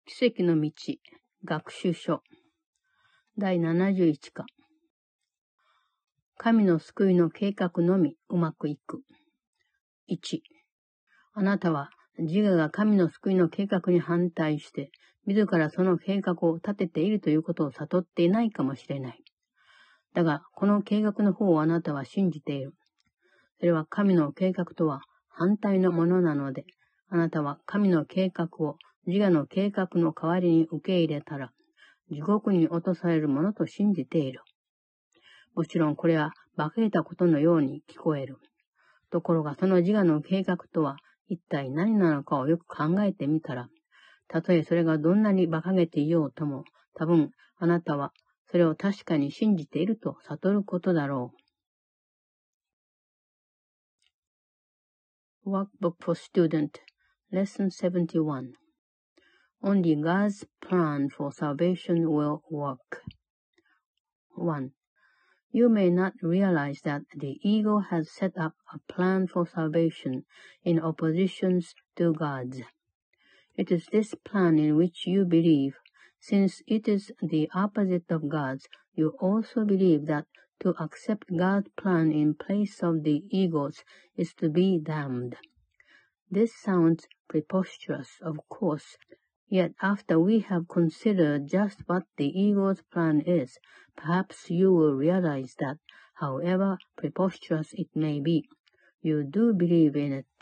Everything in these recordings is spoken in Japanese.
奇跡の道、学習書、第71課。神の救いの計画のみうまくいく。1、あなたは自我が神の救いの計画に反対して、自らその計画を立てているということを悟っていないかもしれない。だが、この計画の方をあなたは信じている。それは神の計画とは反対のものなので、あなたは神の計画を自我の計画の代わりに受け入れたら、地獄に落とされるものと信じている。もちろんこれは馬鹿げたことのように聞こえる。ところがその自我の計画とは一体何なのかをよく考えてみたら、たとえそれがどんなに馬鹿げていようとも、多分あなたはそれを確かに信じていると悟ることだろう。Workbook for Student Lesson 71 Only God's plan for salvation will work. 1. You may not realize that the ego has set up a plan for salvation in opposition to God's. It is this plan in which you believe. Since it is the opposite of God's, you also believe that to accept God's plan in place of the ego's is to be damned. This sounds preposterous, of course. Yet after we have considered just what the ego's plan is, perhaps you will realize that, however preposterous it may be, you do believe in it.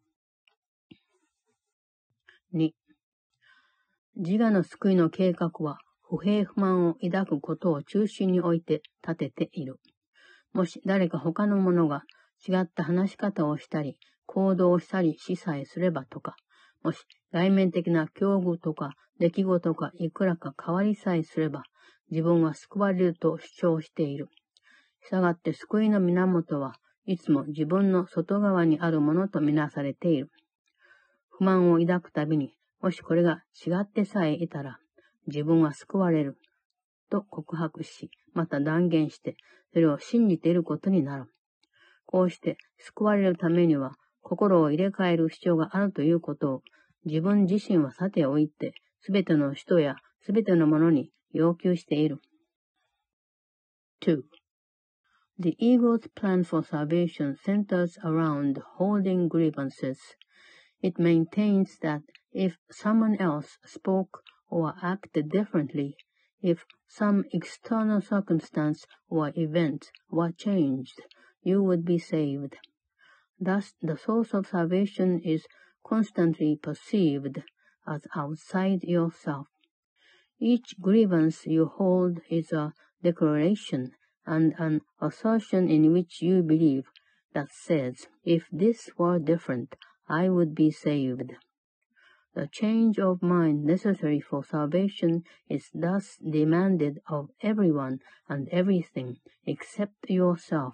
2. 自我の救いの計画は不平不満を抱くことを中心に置いて立てている。もし誰か他の者が違った話し方をしたり、行動をしたりしさえすればとか、もし外面的な境遇とか出来事がいくらか変わりさえすれば、自分は救われると主張している。したがって救いの源はいつも自分の外側にあるものとみなされている。不満を抱くたびに、もしこれが違ってさえいたら、自分は救われると告白し、また断言して、それを信じていることになる。こうして救われるためには、心を入れ替える必要があるということを、自分自身はさておいて、すべての人やすべてのものに要求している。2. The ego's plan for salvation centers around holding grievances. It maintains that if someone else spoke or acted differently, if some external circumstance or event were changed, you would be saved. Thus, the source of salvation is constantly perceived as outside yourself. Each grievance you hold is a declaration and an assertion in which you believe that says, if this were different, I would be saved. The change of mind necessary for salvation is thus demanded of everyone and everything except yourself.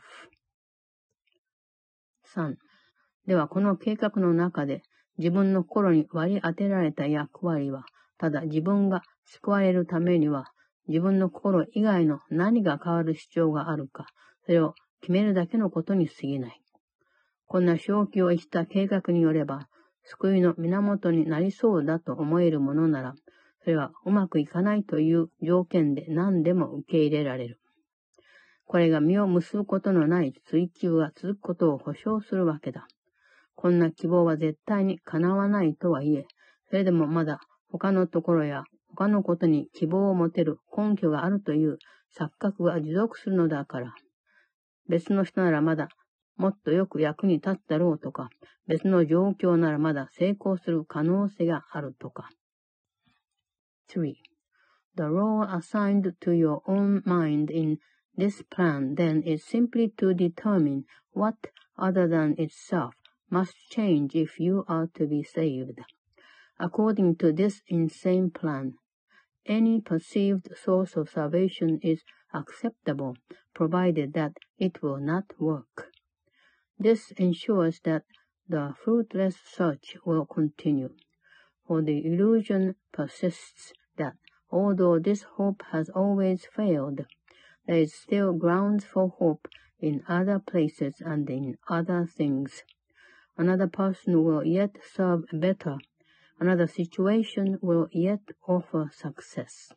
3. ではこの計画の中で自分の心に割り当てられた役割は、ただ自分が救われるためには自分の心以外の何が変わる必要があるか、それを決めるだけのことに過ぎない。こんな正気を逸した計画によれば、救いの源になりそうだと思えるものなら、それはうまくいかないという条件で何でも受け入れられる。これが実を結ぶことのない追求が続くことを保証するわけだ。こんな希望は絶対に叶わないとはいえ、それでもまだ他のところや他のことに希望を持てる根拠があるという錯覚が持続するのだから。別の人ならまだもっとよく役に立つだろうとか、別の状況ならまだ成功する可能性があるとか。3. The role assigned to your own mind in this plan then is simply to determine what other than itself must change if you are to be saved. According to this insane plan, any perceived source of salvation is acceptable, provided that it will not work. This ensures that the fruitless search will continue, for the illusion persists that although this hope has always failed, there is still grounds for hope in other places and in other things. Another person will yet serve better. another situation will yet offer success.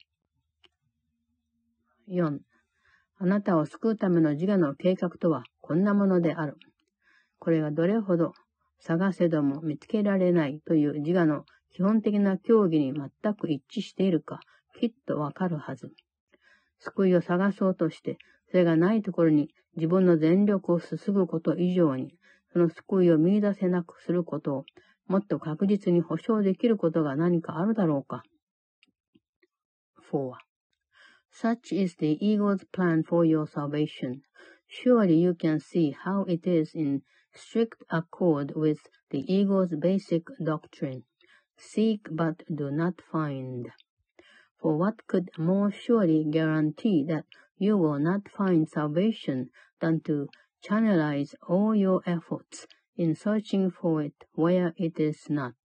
4. あなたを救うための自我の計画とはこんなものである。これがどれほど探せども見つけられないという自我の基本的な教義に全く一致しているか、きっとわかるはず。救いを探そうとして、それがないところに自分の全力を注ぐこと以上に、その救いを見出せなくすることをもっと確実に保証できることが何かあるだろうか。4. Such is the ego's plan for your salvation. Surely you can see how it is in strict accord with the ego's basic doctrine. Seek but do not find. For what could more surely guarantee that you will not find salvation than to channelize all your efforts in searching for it where it is not.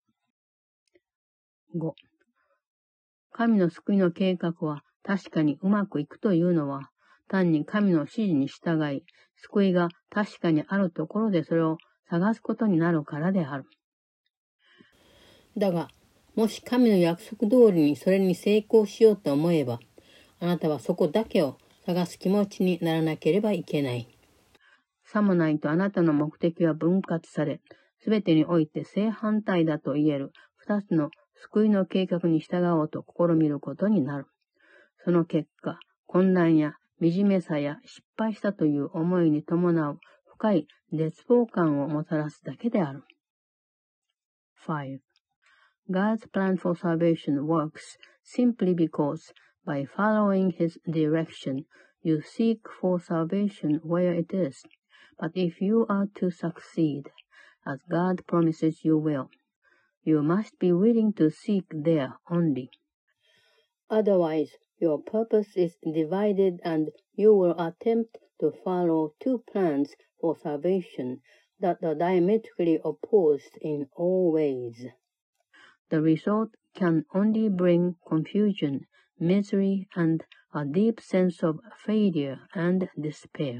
5. 神の救いの計画は確かにうまくいくというのは、単に神の指示に従い、救いが確かにあるところでそれを探すことになるからである。だが、もし神の約束通りにそれに成功しようと思えば、あなたはそこだけを探す気持ちにならなければいけない。さもないとあなたの目的は分割され、すべてにおいて正反対だと言える二つの救いの計画に従おうと試みることになる。その結果、混乱や惨めさや失敗したという思いに伴う深い絶望感をもたらすだけである。5. God's plan for salvation works simply because, by following His direction, you seek for salvation where it is. But if you are to succeed, as God promises you will, you must be willing to seek there only. Otherwise, your purpose is divided and you will attempt to follow two plans for salvation that are diametrically opposed in all ways. The result can only bring confusion, misery, and a deep sense of failure and despair.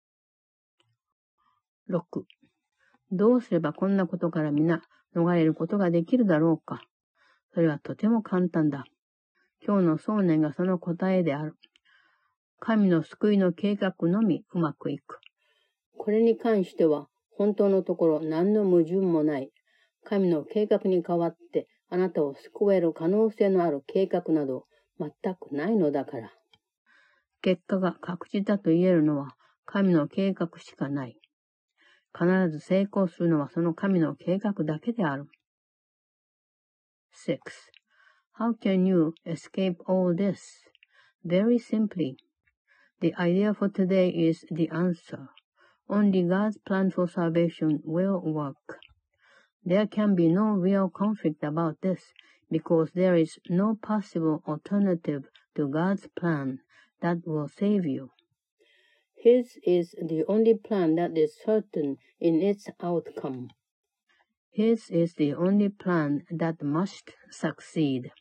6. どうすればこんなことから皆逃れることができるだろうか。それはとても簡単だ。今日の想念がその答えである。神の救いの計画のみうまくいく。これに関しては本当のところ何の矛盾もない。神の計画に代わってあなたを救える可能性のある計画など全くないのだから。結果が確実だと言えるのは神の計画しかない。必ず成功するのはその神の計画だけである。6. How can you escape all this? Very simply. The idea for today is the answer. Only God's plan for salvation will work. There can be no real conflict about this, because there is no possible alternative to God's plan that will save you. His is the only plan that is certain in its outcome. His is the only plan that must succeed.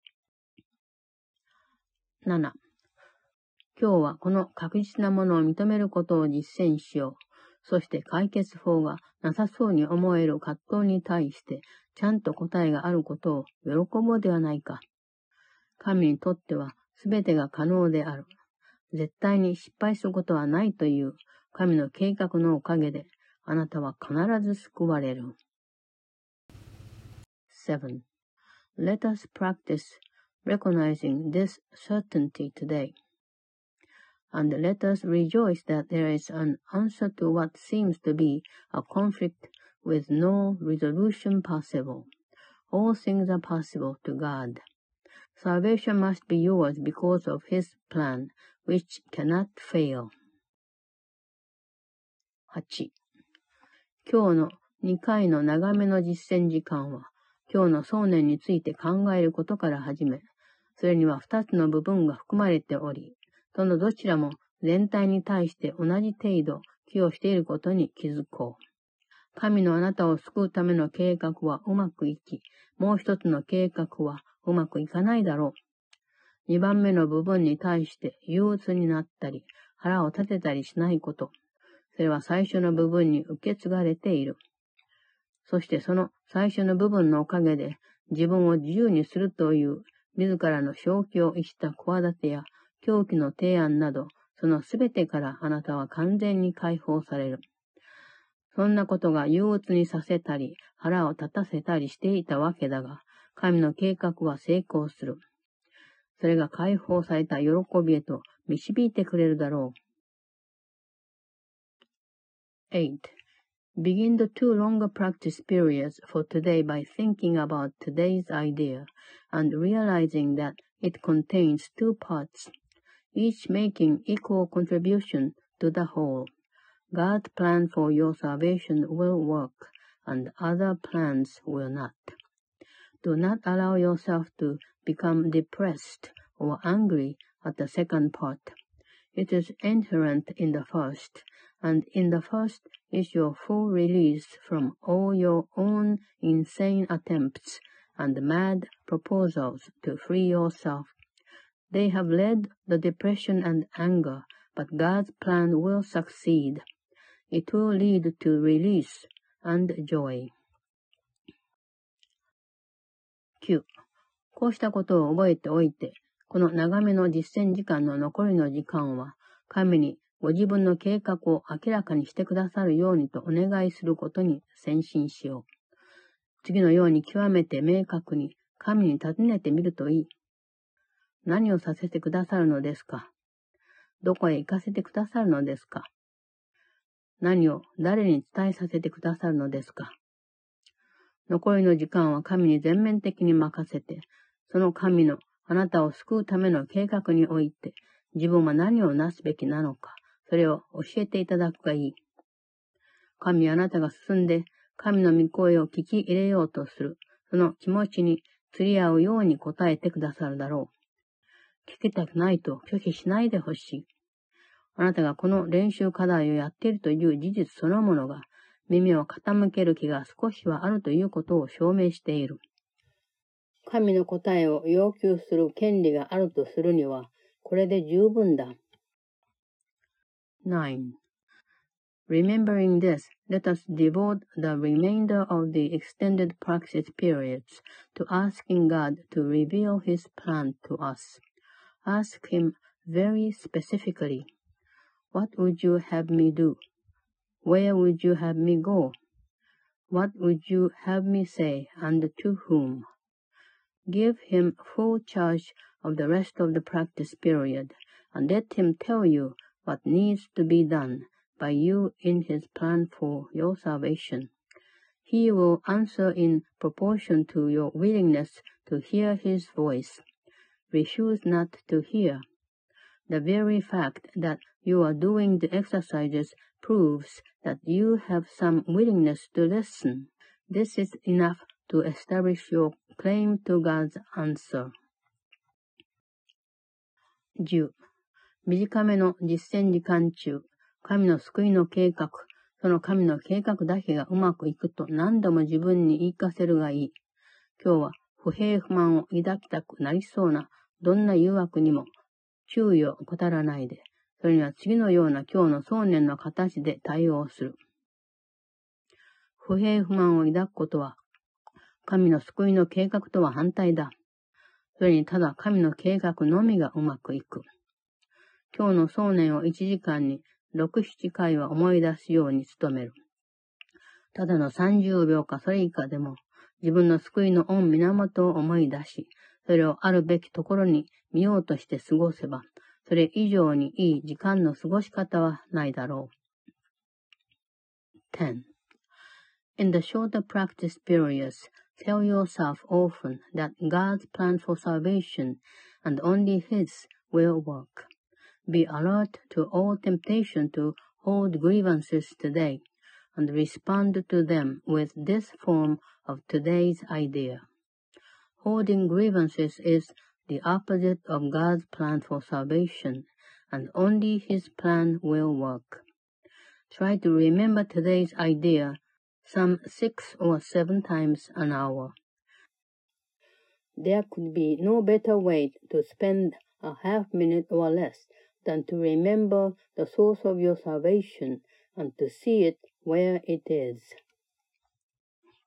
7. 今日はこの確実なものを認めることを実践しよう。そして解決法がなさそうに思える葛藤に対してちゃんと答えがあることを喜ぼうではないか。神にとっては全てが可能である。絶対に失敗することはないという神の計画のおかげであなたは必ず救われる。7. Let us practice recognizing this certainty today. And let us rejoice that there is an answer to what seems to be a conflict with no resolution possible. All things are possible to God. Salvation must be yours because of His plan, which cannot fail. 8. 今日の2回の長めの実践時間は、今日の想念について考えることから始め、それには2つの部分が含まれており、そのどちらも全体に対して同じ程度寄与していることに気づこう。神のあなたを救うための計画はうまくいき、もう一つの計画はうまくいかないだろう。2番目の部分に対して憂鬱になったり、腹を立てたりしないこと。それは最初の部分に受け継がれている。 そしてその最初の部分のおかげで自分を自由にするという自らの正気を逸した企てや狂気の提案など、そのすべてからあなたは完全に解放される。そんなことが憂鬱にさせたり、腹を立たせたりしていたわけだが、神の計画は成功する。それが解放された喜びへと導いてくれるだろう。8. Begin the 2 longer practice periods for today by thinking about today's idea and realizing that it contains 2 parts, each making equal contribution to the whole. God's plan for your salvation will work, and other plans will not. Do not allow yourself to become depressed or angry at the second part. It is inherent in the first, and in the first is your full release from all your own insane attempts and mad proposals to free yourself. They have led the depression and anger, but God's plan will succeed. It will lead to release and joy. 9. こうしたことを覚えておいて、この長めの実践時間の残りの時間は、神にご自分の計画を明らかにしてくださるようにとお願いすることに専心しよう。次のように極めて明確に神に尋ねてみるといい。何をさせてくださるのですか？どこへ行かせてくださるのですか？何を誰に伝えさせてくださるのですか？残りの時間は神に全面的に任せて、その神のあなたを救うための計画において、自分は何をなすべきなのか、それを教えていただくがいい。神はあなたが進んで、神の御声を聞き入れようとする、その気持ちに釣り合うように答えてくださるだろう。聞きたくないと拒否しないでほしい。あなたがこの練習課題をやっているという事実そのものが、耳を傾ける気が少しはあるということを証明している。神の答えを要求する権利があるとするには、これで十分だ。9. Remembering this, let us devote the remainder of the extended practice periods to asking God to reveal His plan to us. Ask Him very specifically, What would you have me do? Where would you have me go? What would you have me say, and to whom? Give Him full charge of the rest of the practice period, and let Him tell you what needs to be done by you in His plan for your salvation. He will answer in proportion to your willingness to hear His voice. Refuse not to hear. The very fact that you are doing the exercises proves that you have some willingness to listen. This is enough to establish your claim to God's answer. 10. 短めの実践時間中、神の救いの計画、その神の計画だけがうまくいくと何度も自分に言い聞かせるがいい。今日は不平不満を抱きたくなりそうなどんな誘惑にも注意を怠らないで、それには次のような今日の想念の形で対応する。不平不満を抱くことは、神の救いの計画とは反対だ。それにただ神の計画のみがうまくいく。今日の想念を1時間に6、7回は思い出すように努める。ただの30秒かそれ以下でも、自分の救いの御源を思い出し、それをあるべきところに見ようとして過ごせば、それ以上にいい時間の過ごし方はないだろう。10. In the shorter practice periods, tell yourself often that God's plan for salvation and only His will work. Be alert to all temptation to hold grievances today and respond to them with this form of today's idea. Holding grievances is the opposite of God's plan for salvation, and only His plan will work. Try to remember today's idea some 6 or 7 times an hour. There could be no better way to spend a half minute or less than to remember the source of your salvation and to see it where it is.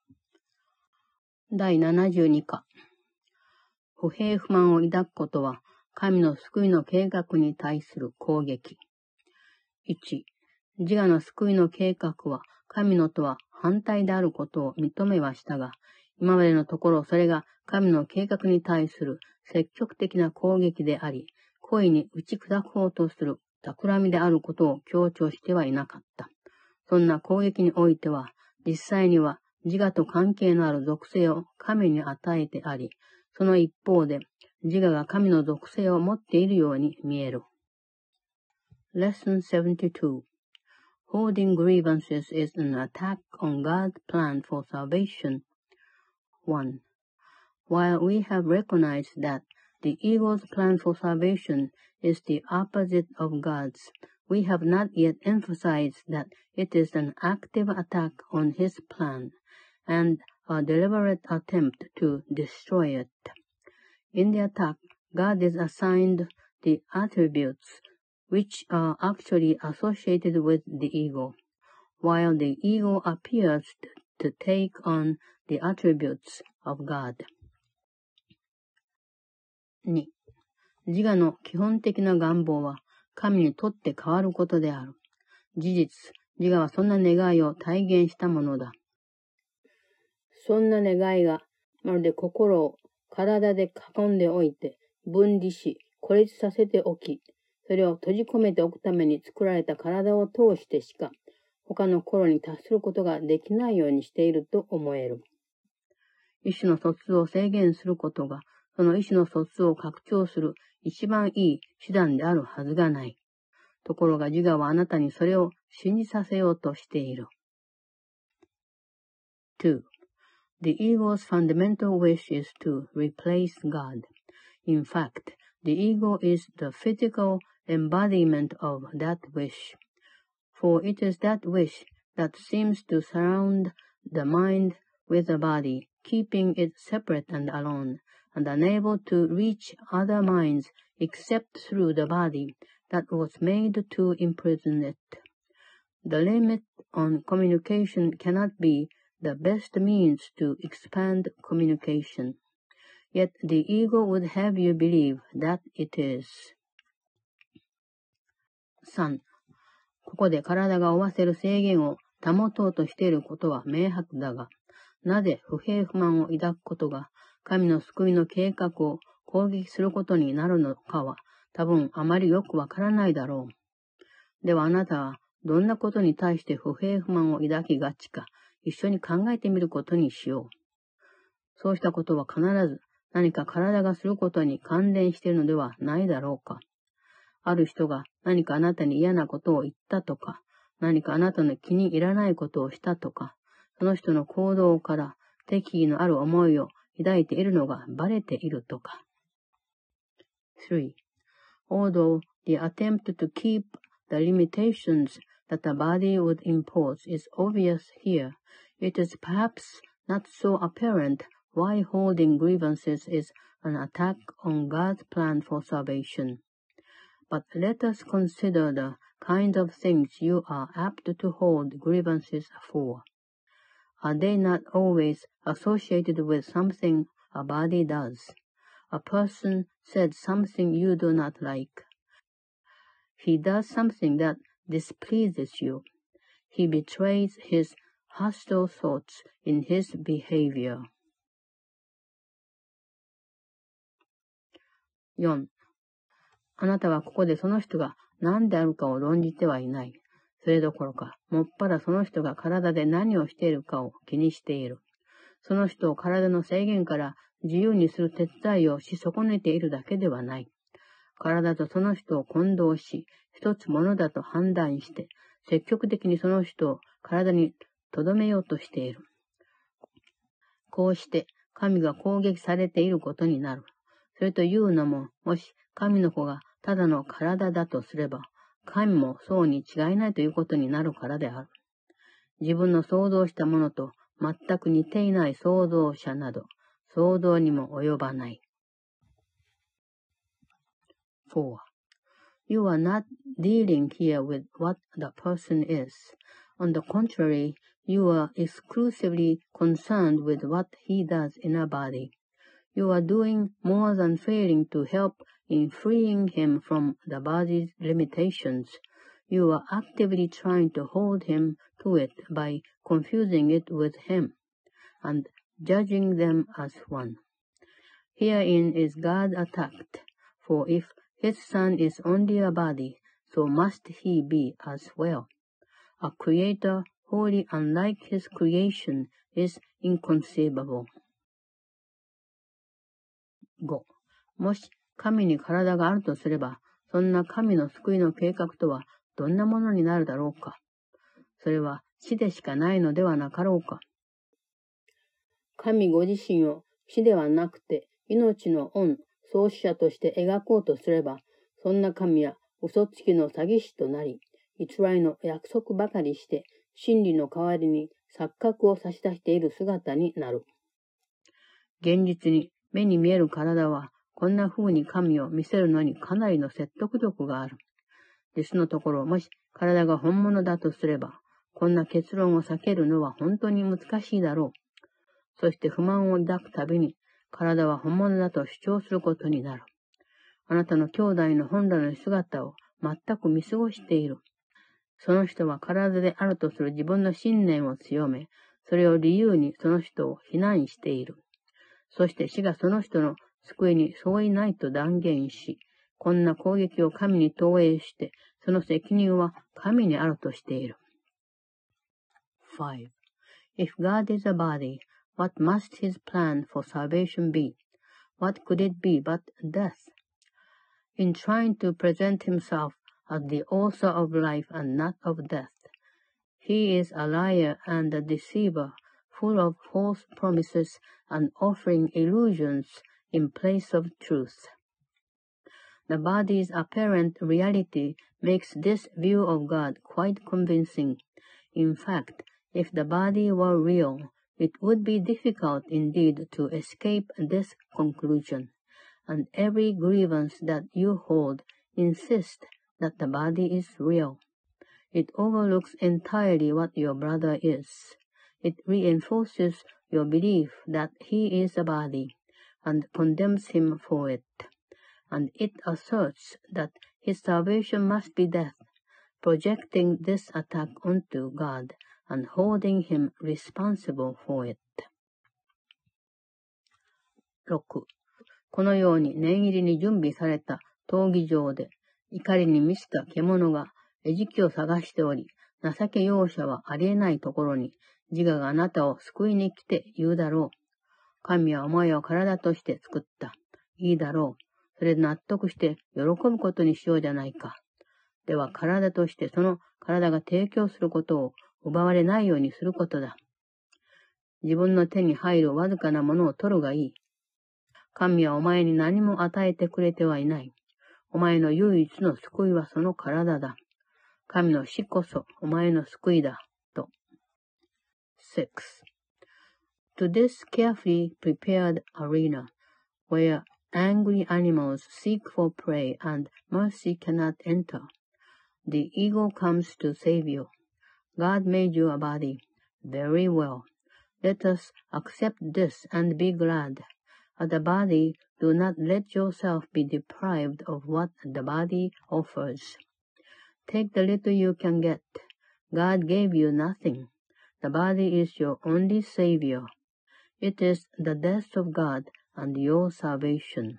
第72課。不平不満を抱くことは、神の救いの計画に対する攻撃。1、自我の救いの計画は、神のとは反対であることを認めはしたが、今までのところそれが神の計画に対する積極的な攻撃であり、故意に打ち砕こうとする企みであることを強調してはいなかった。そんな攻撃においては、実際には自我と関係のある属性を神に与えてあり、その一方で自我が神の属性を持っているように見える。Lesson 72 Holding grievances is an attack on God's plan for salvation. 1. While we have recognized that the ego's plan for salvation is the opposite of God's, we have not yet emphasized that it is an active attack on his plan and a deliberate attempt to destroy it. In the attack, God is assigned the attributes which are actually associated with the ego, while the ego appears to take on the attributes of God. 2. 自我の基本的な願望は神にとって変わることである。事実、自我はそんな願いを体現したものだ。そんな願いがまるで心を体で囲んでおいて分離し孤立させておき、それを閉じ込めておくために作られた体を通してしか他の心に達することができないようにしていると思える。意思の疎通を制限することがその意思の疎通を拡張する一番いい手段であるはずがない。ところが自我はあなたにそれを信じさせようとしている。2. The ego's fundamental wish is to replace God. In fact, the ego is the physical embodiment of that wish. For it is that wish that seems to surround the mind with the body, keeping it separate and alone, and unable to reach other minds except through the body that was made to imprison it. The limit on communication cannot be the best means to expand communication. Yet the ego would have you believe that it is. 3. ここで体が負わせる制限を保とうとしていることは明白だが、なぜ不平不満を抱くことが神の救いの計画を攻撃することになるのかは多分あまりよくわからないだろう。ではあなたはどんなことに対して不平不満を抱きがちか一緒に考えてみることにしよう。そうしたことは必ず何か体がすることに関連しているのではないだろうか。ある人が何かあなたに嫌なことを言ったとか、何かあなたの気に入らないことをしたとか、その人の行動から敵意のある思いを抱いているのがバレているとか。3. Although the attempt to keep the limitations that the body would impose is obvious here, it is perhaps not so apparent why holding grievances is an attack on God's plan for salvation. But let us consider the kind of things you are apt to hold grievances for. Are they not always associated with something a body does? A person said something you do not like. He does something that displeases you. He betrays his hostile thoughts in his behavior. 4. あなたはここでその人が何であるかを論じてはいない。それどころか、もっぱらその人が体で何をしているかを気にしている。その人を体の制限から自由にする手伝いをし損ねているだけではない。体とその人を混同し、一つものだと判断して、積極的にその人を体に留めようとしている。こうして神が攻撃されていることになる。それというのも、もし神の子がただの体だとすれば、神もそうに違いないということになるからである。自分の想像したものと全く似ていない創造者など、想像にも及ばない。4. You are not dealing here with what the person is. On the contrary, You are exclusively concerned with what he does in a body. You are doing more than failing to help in freeing him from the body's limitations. You are actively trying to hold him to it by confusing it with him and judging them as one. Herein is God attacked, for if his son is only a body, so must he be as well. A creator wholly unlike his creation is inconceivable. 5. もし神に体があるとすれば、そんな神の救いの計画とはどんなものになるだろうか。それは死でしかないのではなかろうか。神ご自身を死ではなくて命の恩、創始者として描こうとすれば、そんな神は嘘つきの詐欺師となり、偽りの約束ばかりして、真理の代わりに錯覚を差し出している姿になる。現実に目に見える体は、こんな風に神を見せるのにかなりの説得力がある。実のところ、もし体が本物だとすれば、こんな結論を避けるのは本当に難しいだろう。そして不満を抱くたびに、体は本物だと主張することになる。あなたの兄弟の本来の姿を全く見過ごしている。その人は体であるとする自分の信念を強め、それを理由にその人を非難している。そして死がその人の救いに相違ないと断言し、こんな攻撃を神に投影して、その責任は神にあるとしている。5. If God is a body, what must his plan for salvation be? What could it be but death? In trying to present himself as the author of life and not of death, he is a liar and a deceiver, full of false promises and offering illusions in place of truth. The body's apparent reality makes this view of God quite convincing. In fact, if the body were real, it would be difficult indeed to escape this conclusion, and every grievance that you hold insists that the body is real. It overlooks entirely what your brother is. It reinforces your belief that he is a body, and condemns him for it. And it asserts that his salvation must be death, projecting this attack onto God and holding him responsible for it. 6. このように念入りに準備された闘技場で、怒りに満ちた獣が餌食を探しており、情け容赦はありえないところに、自我があなたを救いに来て言うだろう。神はお前を体として作った。いいだろう。それで納得して喜ぶことにしようじゃないか。では体としてその体が提供することを奪われないようにすることだ。自分の手に入るわずかなものを取るがいい。神はお前に何も与えてくれてはいない。お前の唯一の救いはその体だ。神の死こそお前の救いだ。と。6. To this carefully prepared arena, where angry animals seek for prey and mercy cannot enter, the ego comes to save you. God made you a body. Very well. Let us accept this and be glad. As a body, do not let yourself be deprived of what the body offers. Take the little you can get. God gave you nothing. The body is your only savior. It is the death of God and your salvation.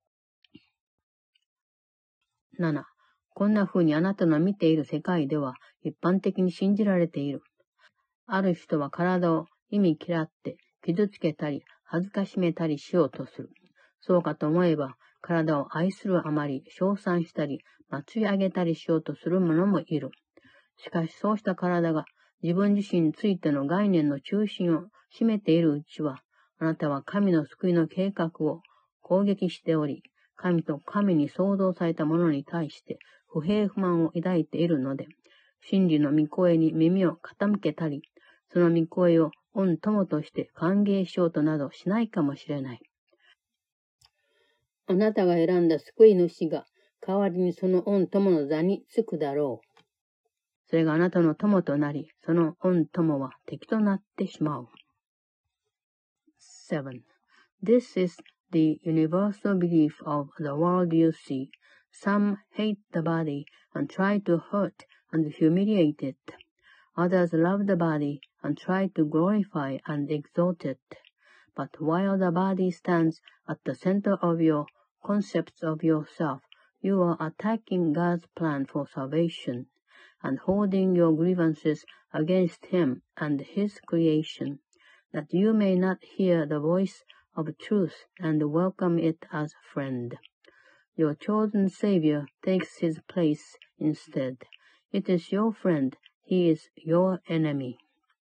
7. こんな風にあなたの見ている世界では一般的に信じられている。ある人は体を忌み嫌って傷つけたり恥ずかしめたりしようとする。そうかと思えば体を愛するあまり称賛したり祭り上げたりしようとする者もいる。しかしそうした体が自分自身についての概念の中心を占めているうちは、あなたは神の救いの計画を攻撃しており、神と神に創造されたものに対して不平不満を抱いているので、真理の御声に耳を傾けたり、その御声を御友として歓迎しようとなどしないかもしれない。あなたが選んだ救い主が代わりにその御友の座につくだろう。 それがあなたの友となり、その恩友は敵となってしまう。7. This is the universal belief of the world you see. Some hate the body and try to hurt and humiliate it. Others love the body and try to glorify and exalt it. But while the body stands at the center of your concepts of yourself, you are attacking God's plan for salvation and holding your grievances against Him and His creation, that you may not hear the voice of truth and welcome it as friend. Your chosen Savior takes His place instead. It is your friend. He is your enemy.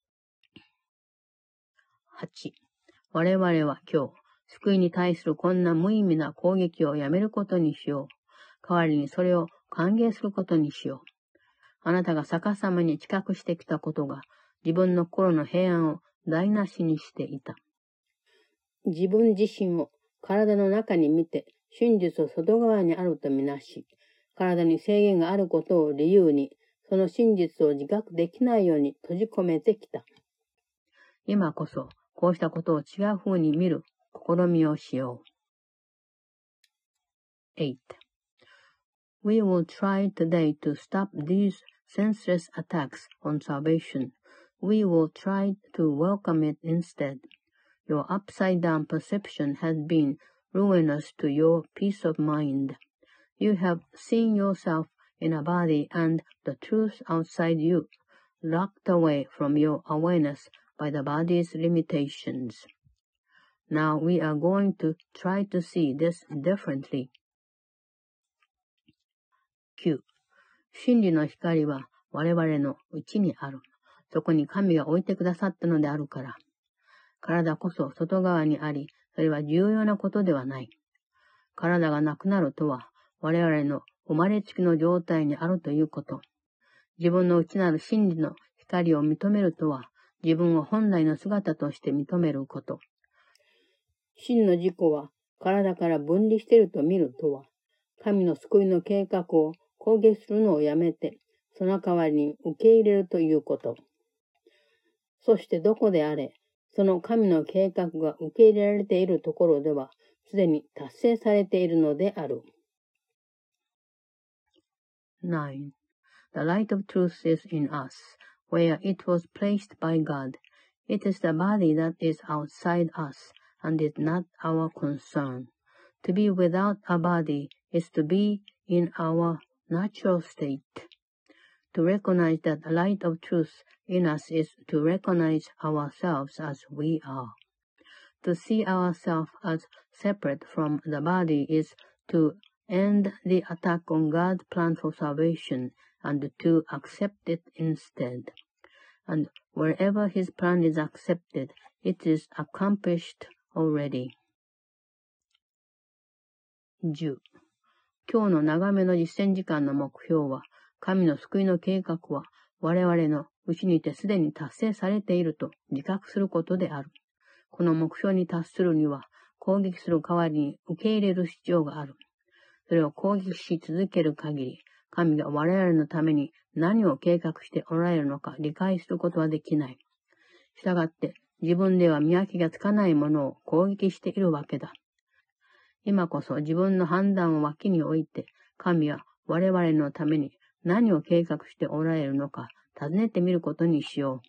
8. 我々は今日、救いに対するこんな無意味な攻撃をやめることにしよう。代わりにそれを歓迎することにしよう。あなたが逆さまに知覚してきたことが、自分の心の平安を台無しにしていた。自分自身を体の中に見て、真実を外側にあるとみなし、体に制限があることを理由に、その真実を自覚できないように閉じ込めてきた。今こそ、こうしたことを違う風に見る試みをしよう。8. We will try today to stop these senseless attacks on salvation. We will try to welcome it instead. Your upside-down perception has been ruinous to your peace of mind. You have seen yourself in a body and the truth outside you, locked away from your awareness by the body's limitations. Now we are going to try to see this differently. 9. 真理の光は我々の内にある。そこに神が置いてくださったのであるから。体こそ外側にあり、それは重要なことではない。体がなくなるとは、我々の生まれつきの状態にあるということ。自分の内なる真理の光を認めるとは、自分を本来の姿として認めること。真の自己は体から分離していると見るとは、神の救いの計画を攻撃するのをやめて、その代わりに受け入れるということ。そしてどこであれ、その神の計画が受け入れられているところでは、すでに達成されているのである。9. The light of truth is in us, where it was placed by God. It is the body that is outside us, and is not our concern. To be without a body is to be in our natural state. To recognize that the light of truth in us is to recognize ourselves as we are. To see ourselves as separate from the body is to end the attack on God's plan for salvation and to accept it instead. And wherever His plan is accepted, it is accomplished already. 10. 今日の長めの実践時間の目標は、神の救いの計画は我々の内にてすでに達成されていると自覚することである。この目標に達するには攻撃する代わりに受け入れる必要がある。それを攻撃し続ける限り、神が我々のために何を計画しておられるのか理解することはできない。したがって自分では見分けがつかないものを攻撃しているわけだ。今こそ自分の判断を脇に置いて、神は我々のために何を計画しておられるのか尋ねてみることにしよ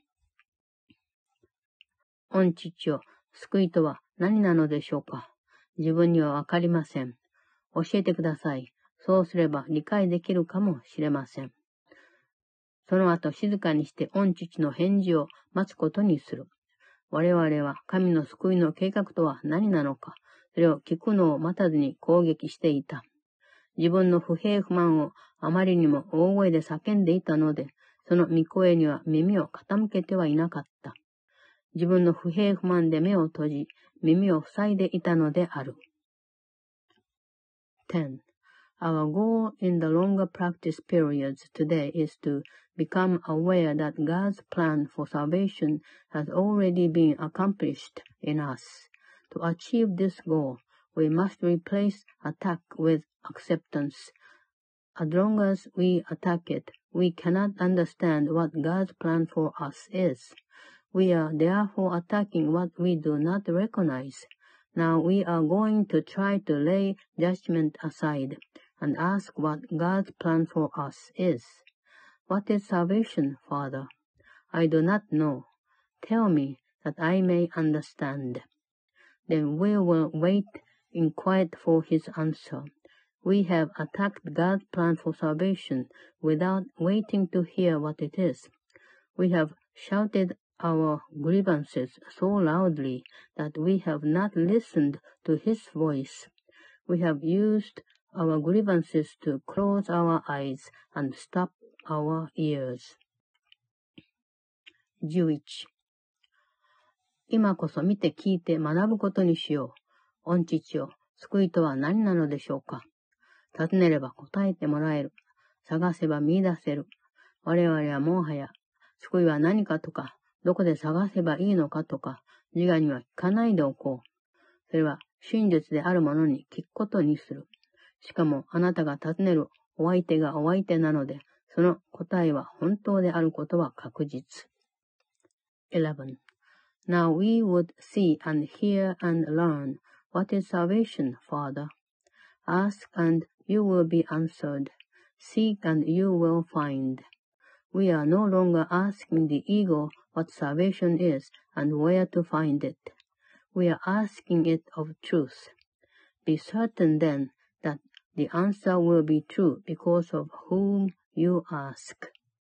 う。御父よ、救いとは何なのでしょうか。自分にはわかりません。教えてください。そうすれば理解できるかもしれません。その後静かにして御父の返事を待つことにする。我々は神の救いの計画とは何なのか、それを聞くのを待たずに攻撃していた。自分の不平不満をあまりにも大声で叫んでいたので、その御声には耳を傾けてはいなかった。自分の不平不満で目を閉じ、耳を塞いでいたのである。10. Our goal in the longer practice periods today is to become aware that God's plan for salvation has already been accomplished in us. To achieve this goal, we must replace attack with acceptance, as long as we attack it, we cannot understand what God's plan for us is. We are therefore attacking what we do not recognize. Now we are going to try to lay judgment aside and ask what God's plan for us is. What is salvation, Father? I do not know. Tell me that I may understand. Then we will wait in quiet for his answer. We have attacked God's plan for salvation without waiting to hear what it is. We have shouted our grievances so loudly that we have not listened to his voice. We have used our grievances to close our eyes and stop our ears. 11. 今こそ見て聞いて学ぶことにしよう。御父よ、救いとは何なのでしょうか。尋ねれば答えてもらえる。探せば見出せる。我々はもはや、救いは何かとか、どこで探せばいいのかとか、自我には聞かないでおこう。それは真実であるものに聞くことにする。しかもあなたが尋ねるお相手がお相手なので、その答えは本当であることは確実。11. Now we would see and hear and learn what is salvation, Father. Ask and you will be answered. Seek and you will find. We are no longer asking the ego what salvation is and where to find it. We are asking it of truth. Be certain then that the answer will be true because of whom you ask.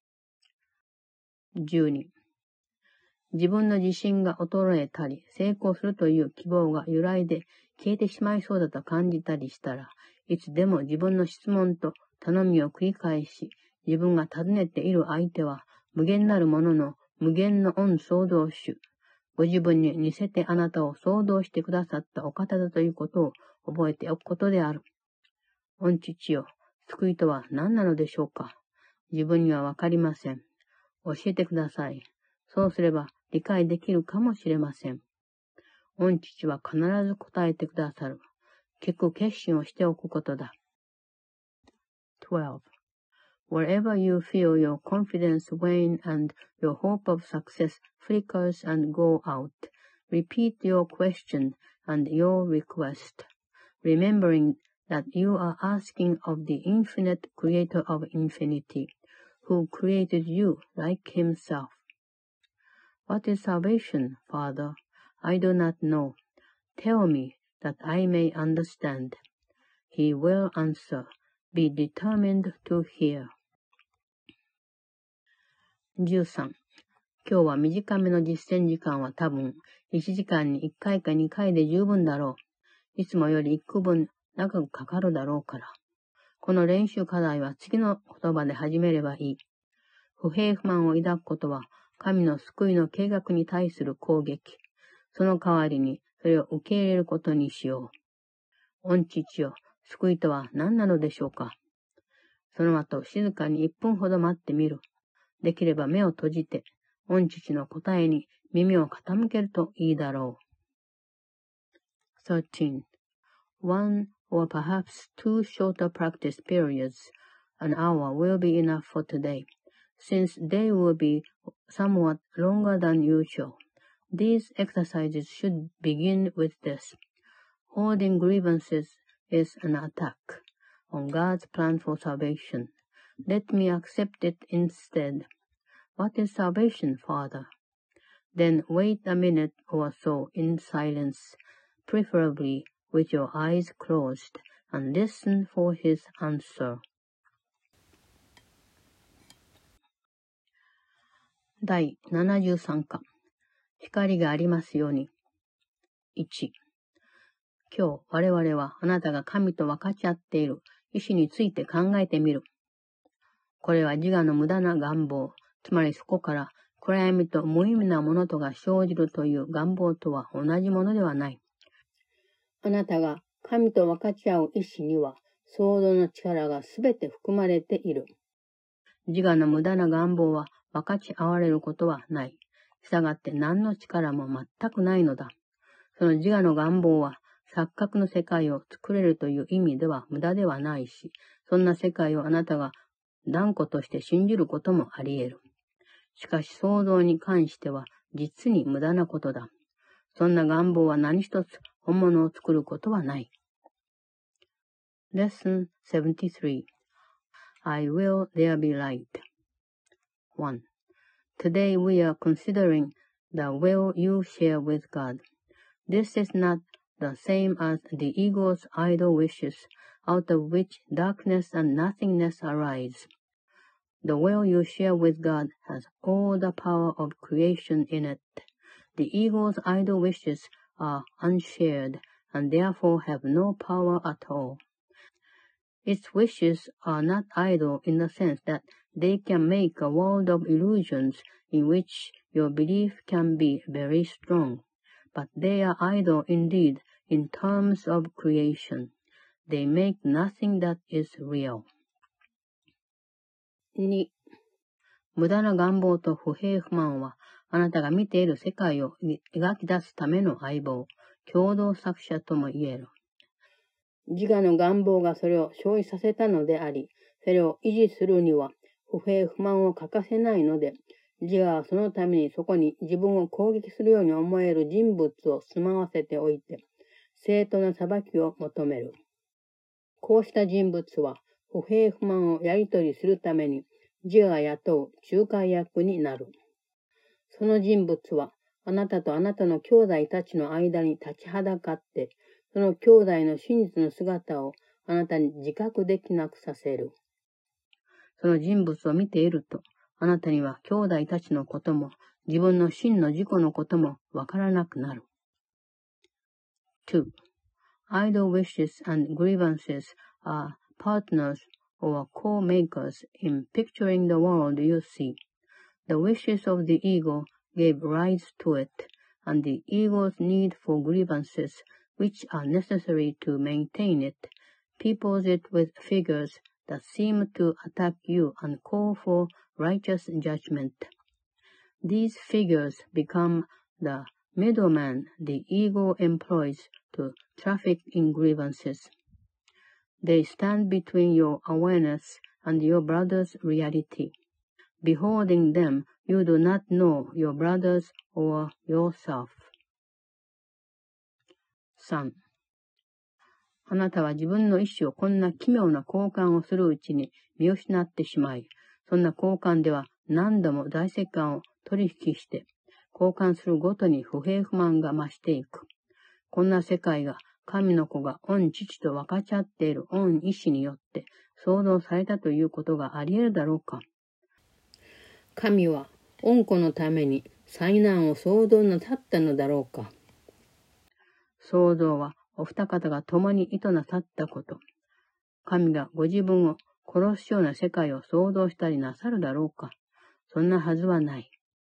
12. 自分の自信が衰えたり、成功するという希望が揺らいで消えてしまいそうだと感じたりしたら、いつでも自分の質問と頼みを繰り返し、自分が尋ねている相手は無限なるものの無限の御創造主、ご自分に似せてあなたを創造してくださったお方だということを覚えておくことである。御父よ、救いとは何なのでしょうか。自分にはわかりません。教えてください。そうすれば理解できるかもしれません。御父は必ず答えてくださる。聞く決心をしておくことだ。12. Wherever you feel your confidence wane and your hope of success flickers and go out, repeat your question and your request, remembering that you are asking of the infinite creator of infinity, who created you like himself. What is salvation, Father? I do not know. Tell me that I may understand. He will answer. Be determined to hear. 13. 今日は短めの実践時間は多分1時間に1回か2回で十分だろう。いつもより1区分長くかかるだろうから。この練習課題は次の言葉で始めればいい。不平不満を抱くことは神の救いの計画に対する攻撃。その代わりにそれを受け入れることにしよう。御父よ、救いとは何なのでしょうか。その後静かに1分ほど待ってみる。できれば目を閉じて、御父の答えに耳を傾けるといいだろう。13. One or perhaps two shorter practice periods, an hour will be enough for today, since they will be somewhat longer than usual. These exercises should begin with this. Holding grievances is an attack on God's plan for salvation. Let me accept it instead. What is salvation, Father? Then wait a minute or so in silence, preferably with your eyes closed, and listen for his answer. 第73課。光がありますように。1。今日我々はあなたが神と分かち合っている意志について考えてみる。これは自我の無駄な願望、つまりそこから暗闇と無意味なものとが生じるという願望とは同じものではない。あなたが神と分かち合う意志には創造の力がすべて含まれている。自我の無駄な願望は分かち合われることはない。したがって何の力も全くないのだ。その自我の願望は錯覚の世界を作れるという意味では無駄ではないし、 そんな世界をあなたが断固として信じることもあり得る。しかし創造に関しては実に無駄なことだ。そんな願望は何一つ本物を作ることはない。Lesson 73 I will there be light. 1. Today we are considering the will you share with God. This is not the same as the ego's idle wishes, out of which darkness and nothingness arise. The will you share with God has all the power of creation in it. The ego's idle wishes are unshared and therefore have no power at all. Its wishes are not idle in the sense that they can make a world of illusions in which your belief can be very strong, but they are idle indeed in terms of creation. They make nothing that is real. 2. 無駄な願望と不平不満は、あなたが見ている世界を描き出すための相棒、共同作者とも言える。自我の願望がそれを生じさせたのであり、それを維持するには不平不満を欠かせないので、自我はそのためにそこに自分を攻撃するように思える人物を住まわせておいて、正当な裁きを求める。こうした人物は不平不満をやり取りするために自我が雇う仲介役になる。その人物はあなたとあなたの兄弟たちの間に立ちはだかって、その兄弟の真実の姿をあなたに自覚できなくさせる。その人物を見ていると、あなたには兄弟たちのことも、自分の真の自己のこともわからなくなる。2. Idle wishes and grievances are partners or co-makers in picturing the world you see. The wishes of the ego gave rise to it, and the ego's need for grievances, which are necessary to maintain it, peoples it with figures that seem to attack you and call for righteous judgment. These figures become the middleman the ego employs to traffic in grievances. They stand between your awareness and your brother's reality. Beholding them, you do not know your brothers or yourself. 3. あなたは自分の意志をこんな奇妙な交換をするうちに見失ってしまい、そんな交換では何度も大折換を取引して、交換するごとに不平不満が増していく。こんな世界が神の子が御父と分かち合っている御意志によって創造されたということがあり得るだろうか。神は御子のために災難を創造なさったのだろうか。創造はお二方が共に意図なさったこと。神がご自分を殺すような世界を創造したりなさるだろうか。そんなはずはない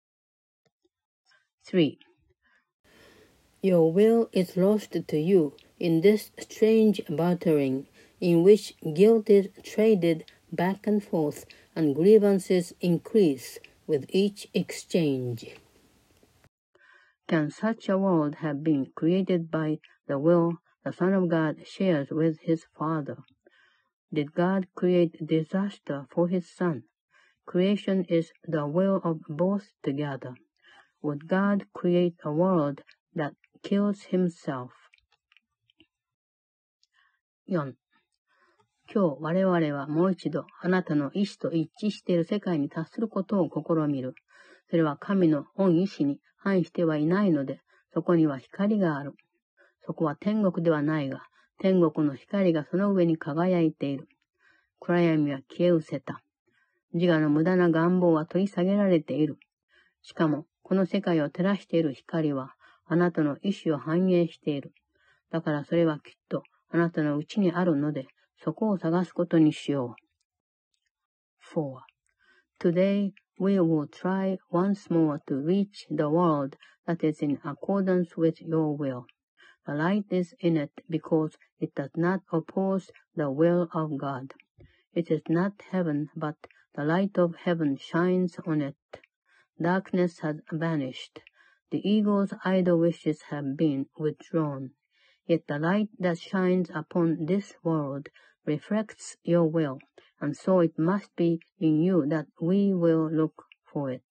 。3. Your will is lost to you in this strange bartering, in which guilt is traded back and forth, and grievances increase with each exchange. Can such a world have been created by the will the Son of God shares with his Father? Did God create disaster for his Son? Creation is the will of both together. Would God create a world that kills himself? 4. 今日我々はもう一度あなたの意志と一致している世界に達することを試みる。それは神の御意志に反してはいないので、そこには光がある。そこは天国ではないが、天国の光がその上に輝いている。暗闇は消え失せた。自我の無駄な願望は取り下げられている。しかも、この世界を照らしている光は、あなたの意志を反映している。だからそれはきっとあなたのうちにあるので、そこを探すことにしよう。4. Today we will try once more to reach the world that is in accordance with your will. The light is in it because it does not oppose the will of God. It is not heaven, but the light of heaven shines on it. Darkness has vanished. The ego's idle wishes have been withdrawn. Yet the light that shines upon this world reflects your will, and so it must be in you that we will look for it.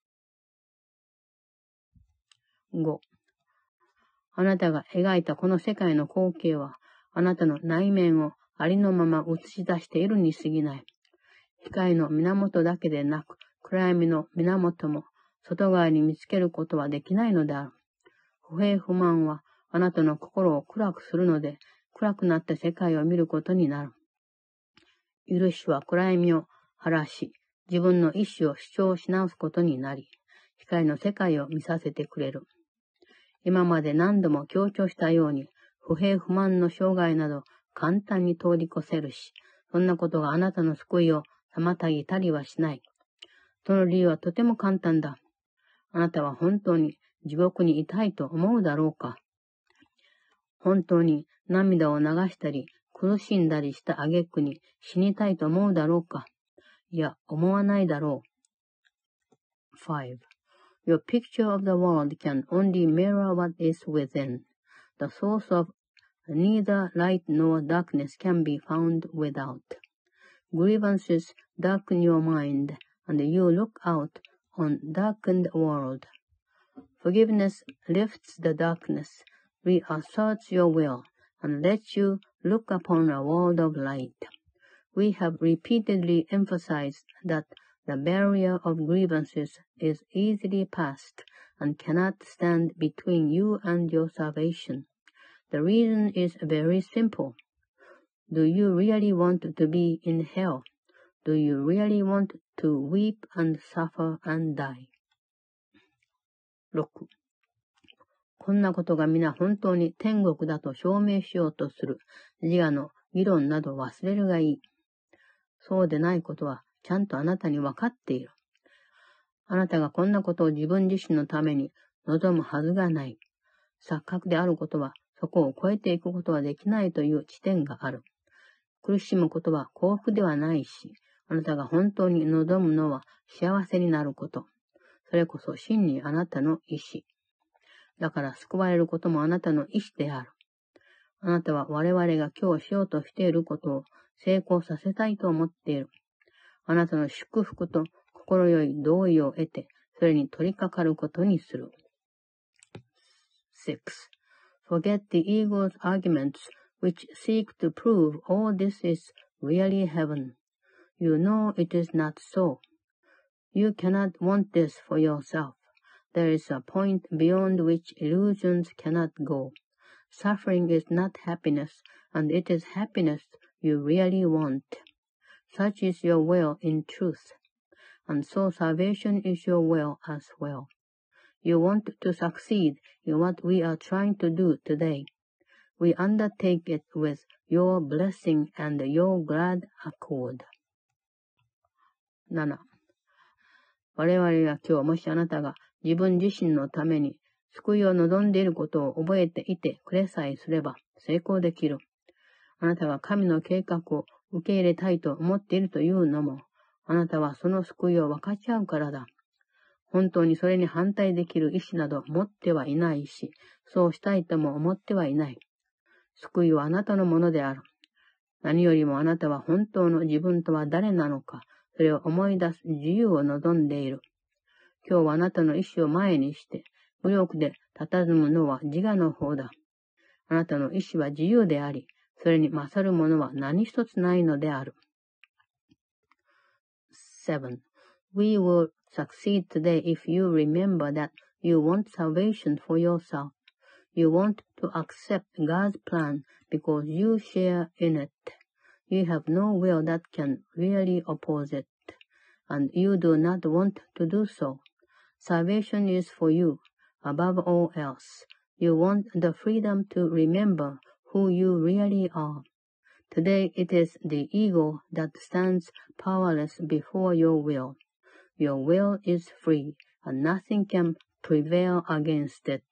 5. あなたが描いたこの世界の光景は、あなたの内面をありのまま映し出しているに過ぎない。光の源だけでなく、暗闇の源も外側に見つけることはできないのである。不平不満はあなたの心を暗くするので、暗くなった世界を見ることになる。許しは暗闇を晴らし、自分の意志を主張し直すことになり、光の世界を見させてくれる。今まで何度も強調したように、不平不満の障害など簡単に通り越せるし、そんなことがあなたの救いを妨げたりはしない。その理由はとても簡単だ。あなたは本当に地獄にいたいと思うだろうか。本当に涙を流したり苦しんだりした挙句に死にたいと思うだろうか。いや、思わないだろう。5. Your picture of the world can only mirror what is within. The source of neither light nor darkness can be found without. Grievances darken your mind, and you look out on darkened world. Forgiveness lifts the darkness, reasserts your will, and lets you look upon a world of light. We have repeatedly emphasized that the barrier of grievances is easily passed and cannot stand between you and your salvation. The reason is very simple. Do you really want to be in hell? Do you really want to weep and suffer and die? 6. こんなことが皆本当に天国だと証明しようとする自我の議論など忘れるがいい。そうでないことはちゃんとあなたに分かっている。あなたがこんなことを自分自身のために望むはずがない。錯覚であることはそこを超えていくことはできないという地点がある。苦しむことは幸福ではないし、あなたが本当に望むのは幸せになること。それこそ真にあなたの意志。だから救われることもあなたの意志である。あなたは我々が今日しようとしていることを成功させたいと思っている。あなたの祝福と心よい同意を得て、それに取り掛かることにする。6. Forget the ego's arguments which seek to prove all this is really heaven. You know it is not so. You cannot want this for yourself. There is a point beyond which illusions cannot go. Suffering is not happiness, and it is happiness you really want. Such is your will in truth. And so salvation is your will as well. You want to succeed in what we are trying to do today. We undertake it with your blessing and your glad accord. 7. 我々が今日もしあなたが自分自身のために救いを望んでいることを覚えていてくれさえすれば成功できる。あなたが神の計画を受け入れたいと思っているというのも、あなたはその救いを分かち合うからだ。本当にそれに反対できる意志など持ってはいないし、そうしたいとも思ってはいない。救いはあなたのものである。何よりもあなたは本当の自分とは誰なのか、それを思い出す自由を望んでいる。今日はあなたの意志を前にして、無力で佇むのは自我の方だ。あなたの意志は自由であり、それに勝るものは何一つないのである。7. We will succeed today if you remember that you want salvation for yourself. You want to accept God's plan because you share in it. You have no will that can really oppose it, and you do not want to do so. Salvation is for you, above all else. You want the freedom to remember who you really are. Today it is the ego that stands powerless before your will. Your will is free, and nothing can prevail against it.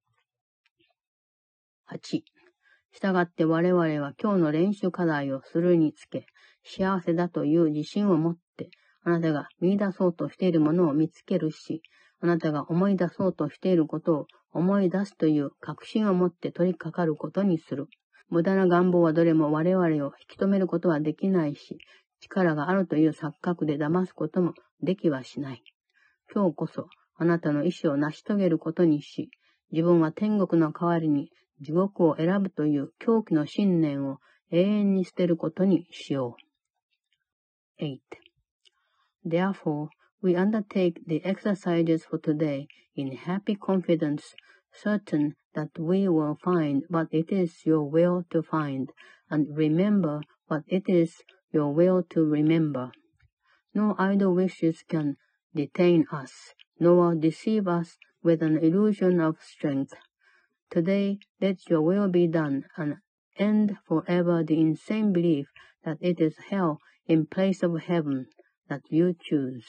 8. したがって我々は今日の練習課題をするにつけ、幸せだという自信を持って、あなたが見出そうとしているものを見つけるし、あなたが思い出そうとしていることを思い出すという確信を持って取り掛かることにする。 無駄な願望はどれも我々を引き止めることはできないし、力があるという錯覚で騙すこともできはしない。今日こそあなたの意志を成し遂げることにし、自分は天国の代わりに地獄を選ぶという狂気の信念を永遠に捨てることにしよう。8. Therefore, we undertake the exercises for today in happy confidence, certain that we will find what it is your will to find, and remember what it is your will to remember. No idle wishes can detain us, nor deceive us with an illusion of strength. Today, let your will be done, and end forever the insane belief that it is hell in place of heaven that you choose.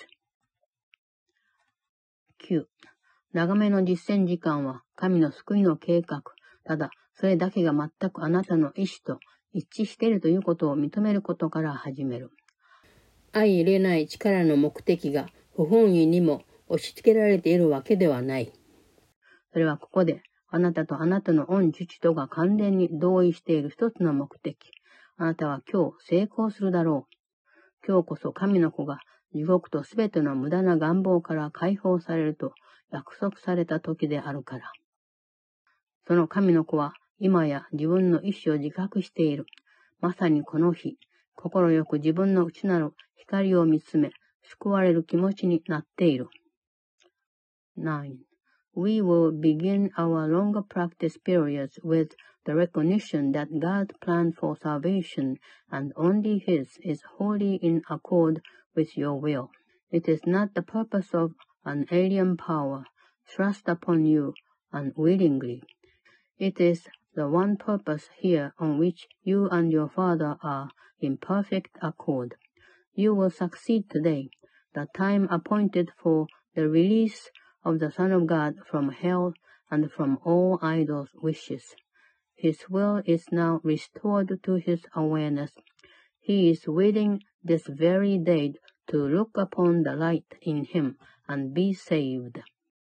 9. 長めの実践時間は神の救いの計画。ただ、それだけが全くあなたの意志と一致しているということを認めることから始める。相入れない力の目的が不本意にも押し付けられているわけではない。それはここであなたとあなたの御父とが完全に同意している一つの目的。あなたは今日成功するだろう。今日こそ神の子が地獄とすべての無駄な願望から解放されると約束された時であるから。その神の子は今や自分の意志を自覚している。まさにこの日、心よく自分の内なる光を見つめ、救われる気持ちになっている。9.We will begin our longer practice periods with the recognition that God's plan for salvation and only His is wholly in accord with your will. It is not the purpose of an alien power thrust upon you unwillingly. It is the one purpose here on which you and your Father are in perfect accord. You will succeed today, the time appointed for the release of the Son of God from hell and from all idols' wishes. His will is now restored to his awareness. He is willing this very day to look upon the light in him and be saved.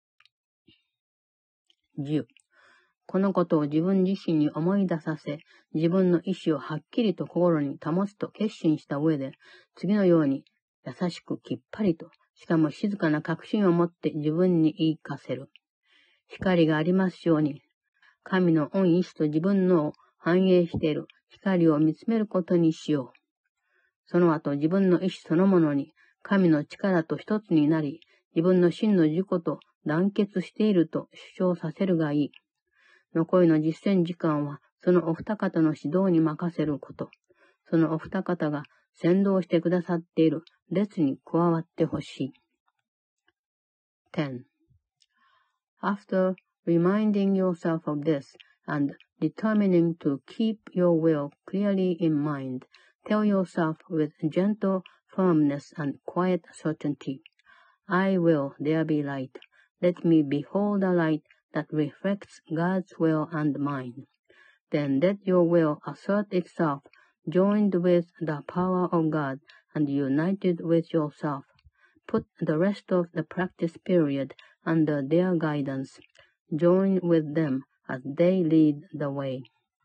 10. このことを自分自身に思い出させ、自分の意志をはっきりと心に保つと決心した上で、次のように優しくきっぱりと、しかも静かな確信を持って自分に言い聞かせる。光がありますように、神の御意志と自分のを反映している光を見つめることにしよう。その後自分の意志そのものに神の力と一つになり、自分の真の自己と団結していると主張させるがいい。残りの実践時間はそのお二方の指導に任せること。そのお二方が先導してくださっている列に加わってほしい。10. After reminding yourself of this and determining to keep your will clearly in mind, tell yourself with gentle firmness and quiet certainty, I will there be light. Let me behold a light that reflects God's will and mine. Then let your will assert itself, joined with the power of God and united with yourself. Put the rest of the practice period under their guidance. Join with them as they lead the way.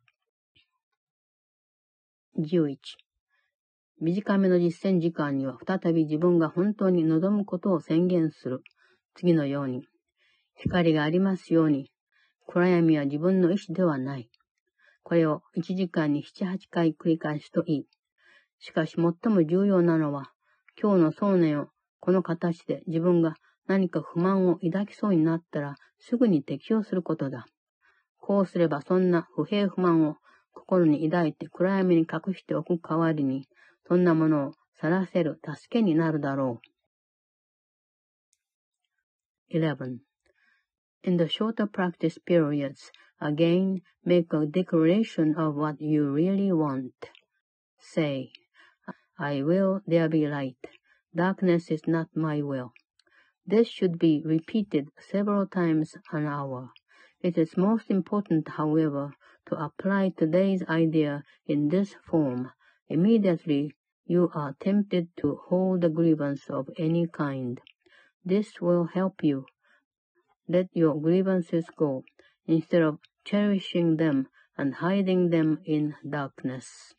11. 短めの実践時間には再び自分が本当に望むことを宣言する。次のように。光がありますように。暗闇は自分の意志ではない。これを1時間に7、8回繰り返すといい。しかし最も重要なのは、今日の想念をこの形で自分が何か不満を抱きそうになったらすぐに適用することだ。こうすればそんな不平不満を心に抱いて暗闇に隠しておく代わりに、そんなものを晒せる助けになるだろう。11. In the shorter practice periods, again make a declaration of what you really want. Say, I will there be light. Darkness is not my will. This should be repeated several times an hour. It is most important, however, to apply today's idea in this form. Immediately, you are tempted to hold a grievance of any kind. This will help you. Let your grievances go, instead of cherishing them and hiding them in darkness.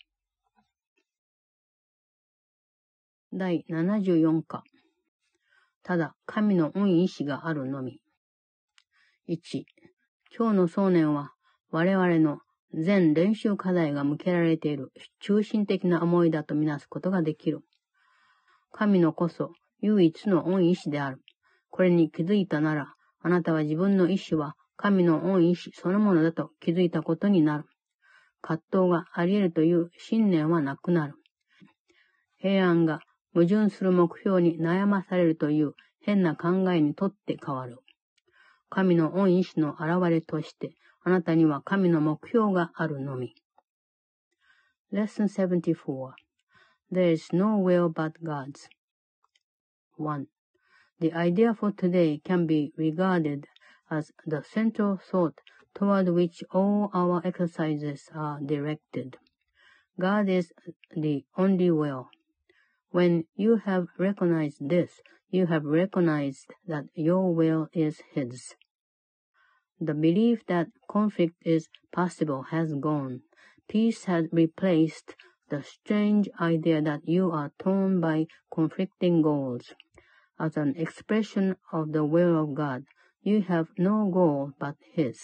第74課。ただ、神の恩意志があるのみ。1、今日の想念は、我々の全練習課題が向けられている中心的な思いだとみなすことができる。神のこそ唯一の恩意志である。これに気づいたなら、あなたは自分の意志は神の恩意志そのものだと気づいたことになる。葛藤があり得るという信念はなくなる。平安が矛盾する目標に悩まされるという変な考えにとって変わる。神の恩意志の現れとして、あなたには神の目標があるのみ。Lesson 74 There is no will but God's. 1. The idea for today can be regarded as the central thought toward which all our exercises are directed. God is the only will. When you have recognized this, you have recognized that your will is His. The belief that conflict is possible has gone. Peace has replaced the strange idea that you are torn by conflicting goals. As an expression of the will of God, you have no goal but His.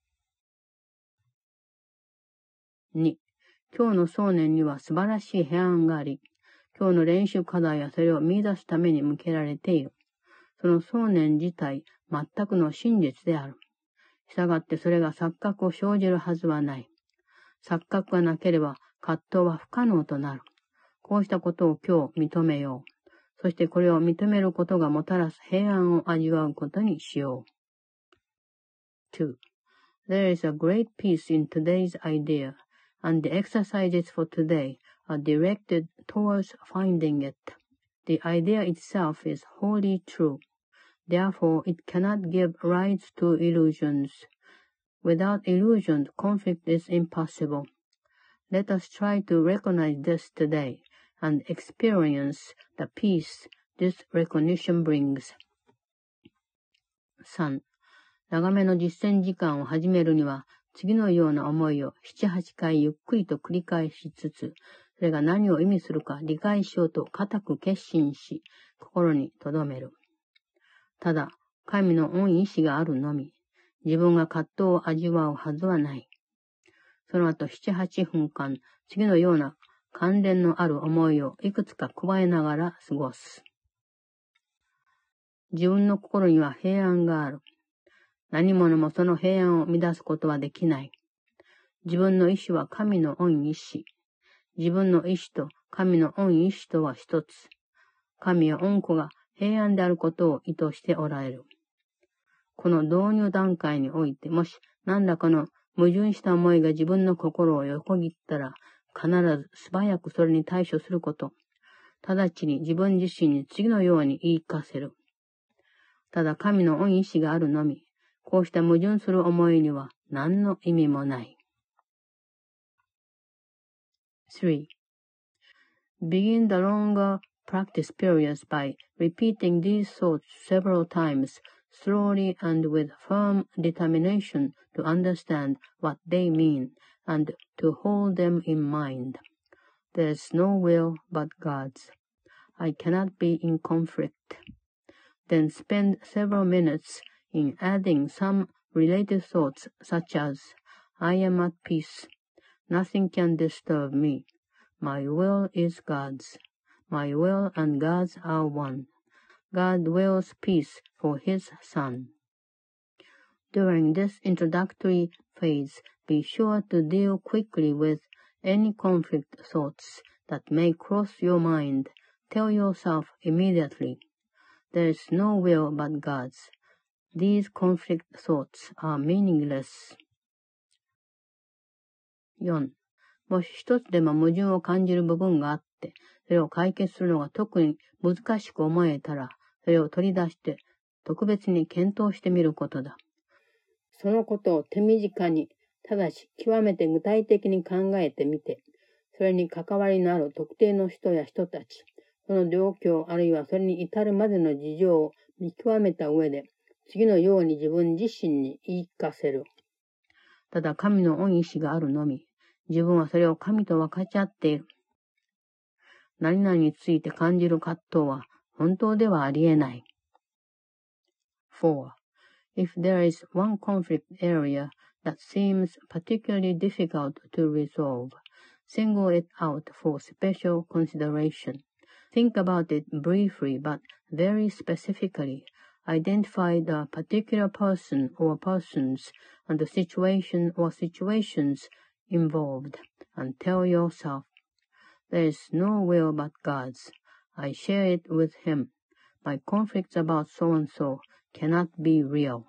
2. 今日の想念には素晴らしい平安があり、今日の練習課題はそれを見出すために向けられている。その想念自体、全くの真実である。したがってそれが錯覚を生じるはずはない。錯覚がなければ葛藤は不可能となる。こうしたことを今日認めよう。そしてこれを認めることがもたらす平安を味わうことにしよう。2. There is a great peace in today's idea, and the exercises for today are directed towards finding it. The idea itself is wholly true. Therefore, it cannot give rise to illusions. Without illusions, conflict is impossible. Let us try to recognize this today and experience the peace this recognition brings. 3. 長めの実践時間を始めるには、次のような思いを7、8回ゆっくりと繰り返しつつ、それが何を意味するか理解しようと固く決心し、心に留める。ただ、神の恩意志があるのみ、自分が葛藤を味わうはずはない。その後7、8分間、次のような関連のある思いをいくつか加えながら過ごす。自分の心には平安がある。何者もその平安を乱すことはできない。自分の意志は神の恩意志。自分の意志と神の恩意志とは一つ。神は恩子が平安であることを意図しておられる。この導入段階において、もし何らかの矛盾した思いが自分の心を横切ったら、必ず素早くそれに対処すること。直ちに自分自身に次のように言い聞かせる。ただ神の恩意志があるのみ、こうした矛盾する思いには何の意味もない。3. Begin the longer practice periods by repeating these thoughts several times, slowly and with firm determination to understand what they mean and to hold them in mind. There is no will but God's. I cannot be in conflict. Then spend several minutes in adding some related thoughts such as, I am at peace. Nothing can disturb me. My will is God's. My will and God's are one. God wills peace for His Son. During this introductory phase, be sure to deal quickly with any conflict thoughts that may cross your mind. Tell yourself immediately, there is no will but God's. These conflict thoughts are meaningless. 4. もし一つでも矛盾を感じる部分があって、それを解決するのが特に難しく思えたら、それを取り出して特別に検討してみることだ。そのことを手短に、ただし極めて具体的に考えてみて、それに関わりのある特定の人や人たち、その状況あるいはそれに至るまでの事情を見極めた上で、次のように自分自身に言い聞かせる。 ただ神の恩意志があるのみ。自分はそれを神と分かち合っている。何々について感じる葛藤は本当ではありえない。4. If there is one conflict area that seems particularly difficult to resolve, single it out for special consideration. Think about it briefly but very specifically. Identify the particular person or persons and the situation or situations involved and tell yourself, there is no will but God's. I share it with him. My conflicts about so-and-so cannot be real.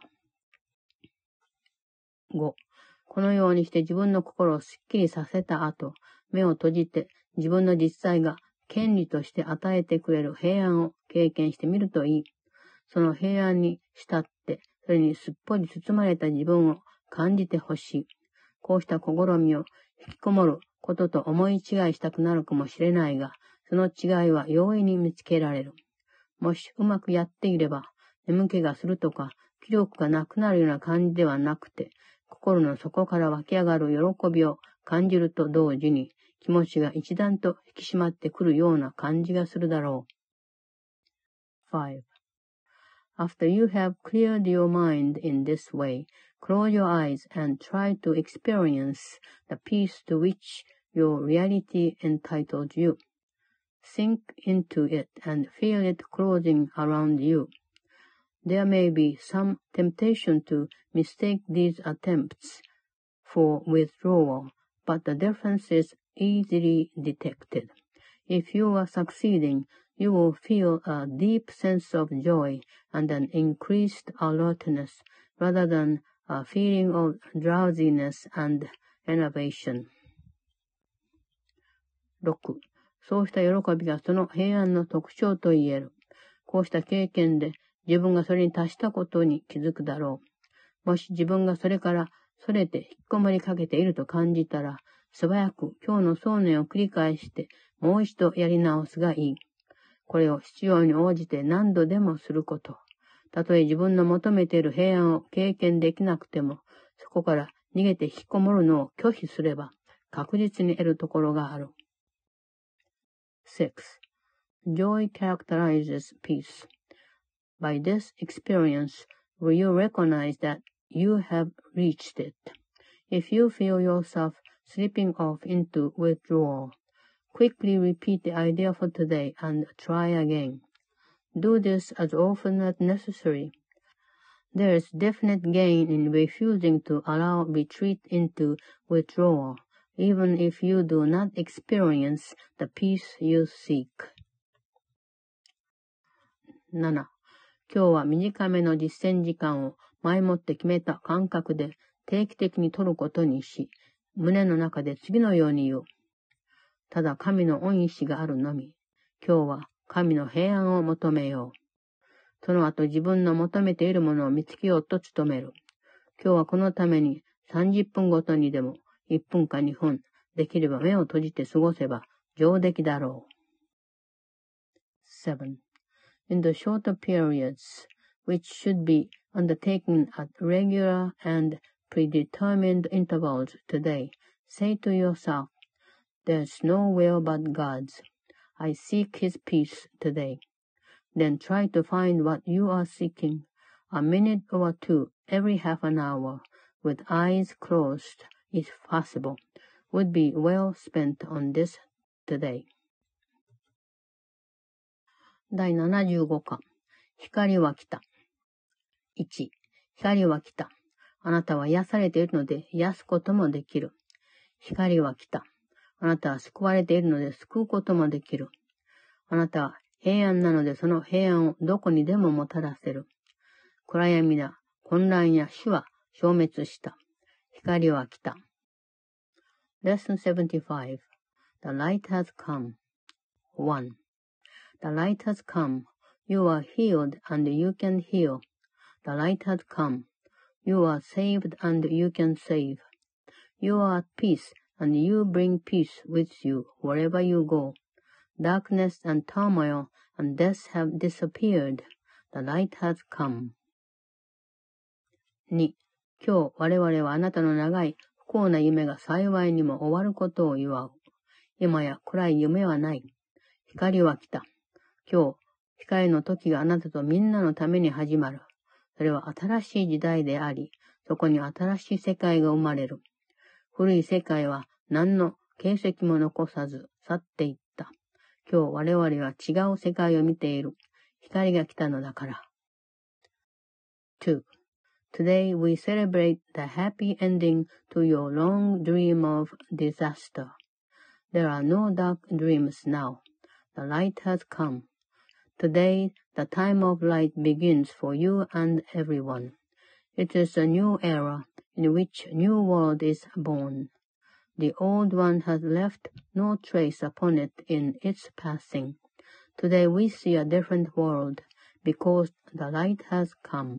5. このようにして自分の心をすっきりさせた後、目を閉じて自分の実際が権利として与えてくれる平安を経験してみるといい。その平安に浸って、それにすっぽり包まれた自分を感じてほしい。こうした試みを引きこもることと思い違いしたくなるかもしれないが、その違いは容易に見つけられる。もしうまくやっていれば、眠気がするとか、気力がなくなるような感じではなくて、心の底から湧き上がる喜びを感じると同時に、気持ちが一段と引き締まってくるような感じがするだろう。5. After you have cleared your mind in this way, close your eyes and try to experience the peace to which your reality entitles you. Sink into it and feel it closing around you. There may be some temptation to mistake these attempts for withdrawal, but the difference is easily detected. If you are succeeding, you will feel a deep sense of joy and an increased alertness rather than a feeling of drowsiness and enervation. 6. そうした喜びがその平安の特徴と言える。こうした経験で自分がそれに達したことに気づくだろう。もし自分がそれからそれて引っこもりかけていると感じたら、素早く今日の想念を繰り返してもう一度やり直すがいい。これを必要に応じて何度でもすること。たとえ自分の求めている平安を経験できなくても、そこから逃げて引きこもるのを拒否すれば、確実に得るところがある。6. Joy characterizes peace. By this experience, will you recognize that you have reached it? If you feel yourself slipping off into withdrawal, quickly repeat the idea for today and try again. Do this as often as necessary. There is definite gain in refusing to allow retreat into withdrawal, even if you do not experience the peace you seek. 7. 今日は短めの実践時間を前もって決めた感覚で定期的に取ることにし、胸の中で次のように言う。ただ神の恩意志があるのみ。今日は神の平安を求めよう。その後自分の求めているものを見つけようと努める。今日はこのために30分ごとにでも1分か2分、できれば目を閉じて過ごせば上出来だろう。7. In the shorter periods, which should be undertaken at regular and predetermined intervals today, say to yourself, There's no will but God's. I seek His peace today. Then try to find what you are seeking. A minute or two every half an hour, with eyes closed, if possible, would be well spent on this today. 第75課。光は来た。1、光は来た。あなたは癒されているので癒すこともできる。光は来た。あなたは救われているので救うこともできる。あなたは平安なのでその平安をどこにでももたらせる。暗闇だ、混乱や死は消滅した。光は来た。Lesson 75 The light has come. 1. The light has come. You are healed and you can heal. The light has come. You are saved and you can save. You are at peace and you bring peace with you wherever you go. Darkness and turmoil and death have disappeared. The light has come. 2. 今日我々はあなたの長い不幸な夢が幸いにも終わることを祝う。今や暗い夢はない。光は来た。今日、光の時があなたとみんなのために始まる。それは新しい時代であり、そこに新しい世界が生まれる。古い世界は何の形跡も残さず去っていった。今日我々は違う世界を見ている。光が来たのだから。2. Today we celebrate the happy ending to your long dream of disaster. There are no dark dreams now. The light has come. Today the time of light begins for you and everyone. It is a new era in which a new world is born. The old one has left no trace upon it in its passing. Today we see a different world because the light has come.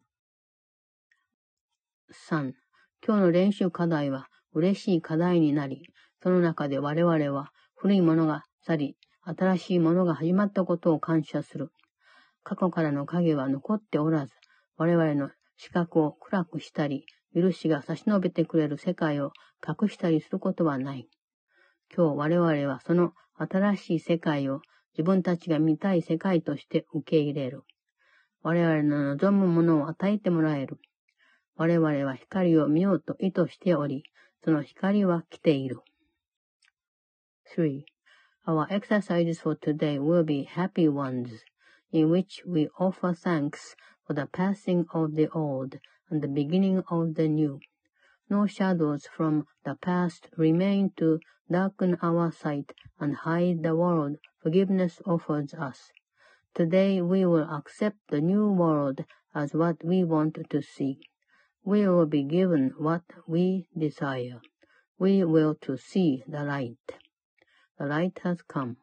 3. 今日の練習課題は嬉しい課題になり、その中で我々は古いものが去り、新しいものが始まったことを感謝する。過去からの影は残っておらず、我々の視覚を暗くしたり、許しが差し伸べてくれる世界を隠したりすることはない。今日我々はその新しい世界を自分たちが見たい世界として受け入れる。我々の望むものを与えてもらえる。我々は光を見ようと意図しており、その光は来ている。3. Our exercises for today will be happy ones, in which we offer thanks for the passing of the old and the beginning of the new. No shadows from the past remain to darken our sight and hide the world forgiveness offers us. Today we will accept the new world as what we want to see. We will be given what we desire. We will to see the light. The light has come.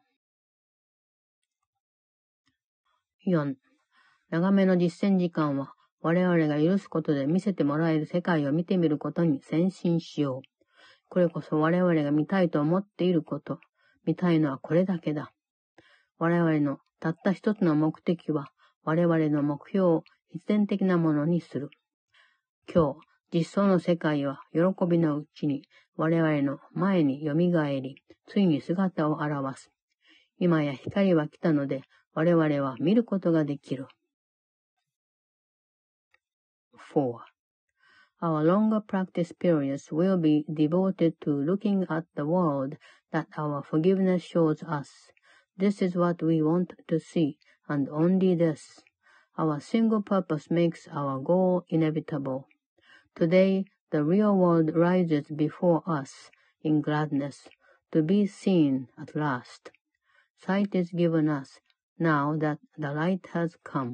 4. 長めの実践時間は我々が許すことで見せてもらえる世界を見てみることに先進しよう。これこそ我々が見たいと思っていること。見たいのはこれだけだ。我々のたった一つの目的は我々の目標を必然的なものにする。今日、実相の世界は喜びのうちに我々の前によみがえり、ついに姿を現す。今や光は来たので我々は見ることができる。4. Our longer practice periods will be devoted to looking at the world that our forgiveness shows us. This is what we want to see, and only this. Our single purpose makes our goal inevitable. Today, the real world rises before us in gladness, to be seen at last. Sight is given us, now that the light has come.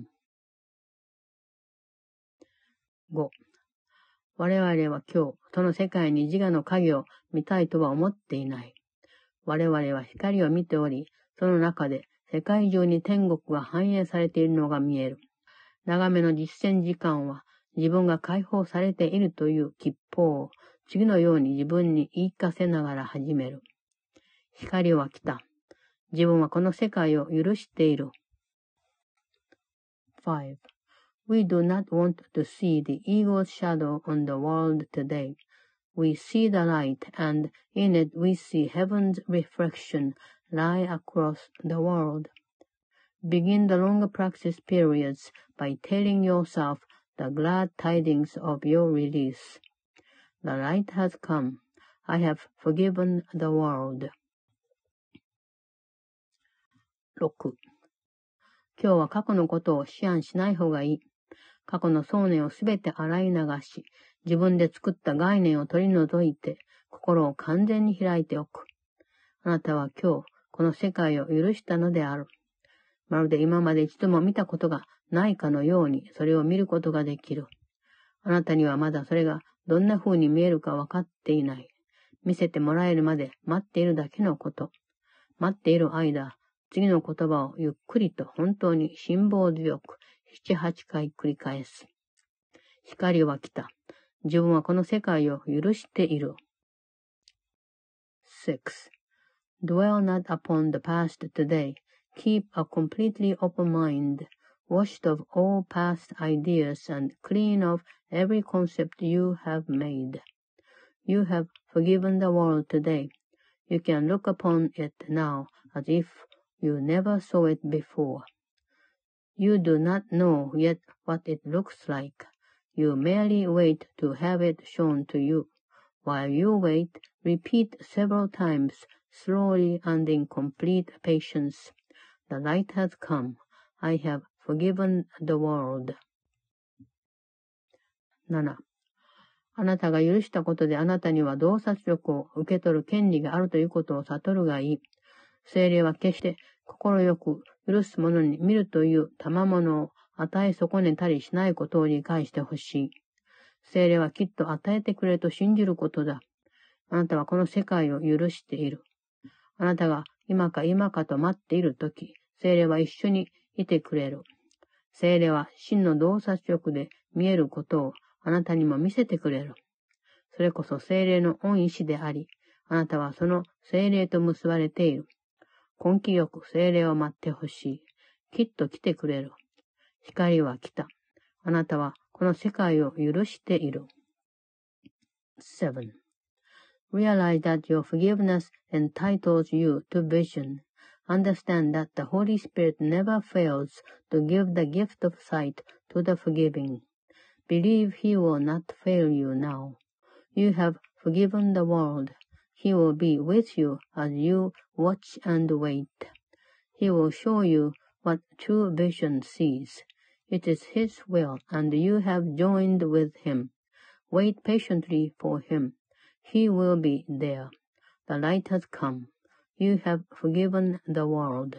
5. 我々は今日、その世界に自我の影を見たいとは思っていない。我々は光を見ており、その中で世界中に天国が反映されているのが見える。長めの実践時間は自分が解放されているという吉報を次のように自分に言い聞かせながら始める。光は来た。自分はこの世界を許している。5. We do not want to see the ego's shadow on the world today. We see the light, and in it we see heaven's reflection lie across the world. Begin the longer practice periods by telling yourself the glad tidings of your release. The light has come. I have forgiven the world. 6. 今日は過去のことを思案しない方がいい。過去の想念をすべて洗い流し、自分で作った概念を取り除いて、心を完全に開いておく。あなたは今日、この世界を許したのである。まるで今まで一度も見たことがないかのように、それを見ることができる。あなたにはまだそれがどんな風に見えるか分かっていない。見せてもらえるまで待っているだけのこと。待っている間、次の言葉をゆっくりと本当に辛抱強く、7、8回繰り返す。光は来た。自分はこの世界を許している。6. Dwell not upon the past today. Keep a completely open mind, washed of all past ideas and clean of every concept you have made. You have forgiven the world today. You can look upon it now as if you never saw it before. You do not know yet what it looks like. You merely wait to have it shown to you. While you wait, repeat several times, slowly and in complete patience. The light has come. I have forgiven the world. 7. あなたが許したことであなたには洞察力を受け取る権利があるということを悟るがいい。聖霊は決して心よく許す者に見るという賜物を与え損ねたりしないことを理解してほしい。聖霊はきっと与えてくれると信じることだ。あなたはこの世界を許している。あなたが今か今かと待っているとき、聖霊は一緒にいてくれる。聖霊は真の洞察力で見えることをあなたにも見せてくれる。それこそ聖霊の恩意志であり、あなたはその聖霊と結ばれている。根気よく聖霊を待ってほしい。きっと来てくれる。光は来た。あなたはこの世界を許している。7. Realize that your forgiveness entitles you to vision. Understand that the Holy Spirit never fails to give the gift of sight to the forgiving. Believe He will not fail you now. You have forgiven the world. He will be with you as you watch and wait. He will show you what true vision sees. It is His will, and you have joined with Him. Wait patiently for Him. He will be there. The light has come. You have forgiven the world.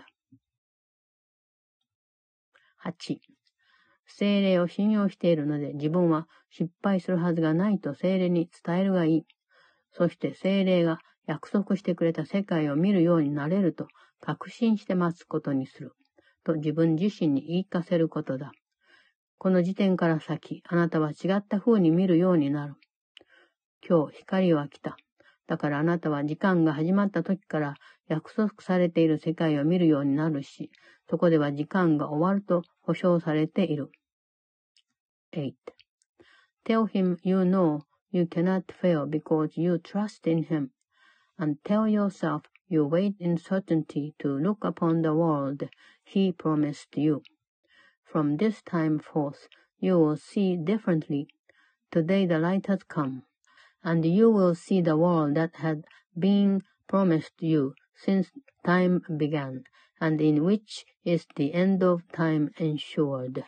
8. 聖霊を信用しているので自分は失敗するはずがないと聖霊に伝えるがいい。そして聖霊が約束してくれた世界を見るようになれると確信して待つことにする。と自分自身に言い聞かせることだ。この時点から先、あなたは違った風に見るようになる。今日光は来た。だからあなたは時間が始まった時から約束されている世界を見るようになるし、そこでは時間が終わると保証されている。8. Tell him you know you cannot fail because you trust in him, and tell yourself you wait in certainty to look upon the world he promised you. From this time forth, you will see differently. Today the light has come, and you will see the world that had been promised you since time began, and in which is the end of time ensured.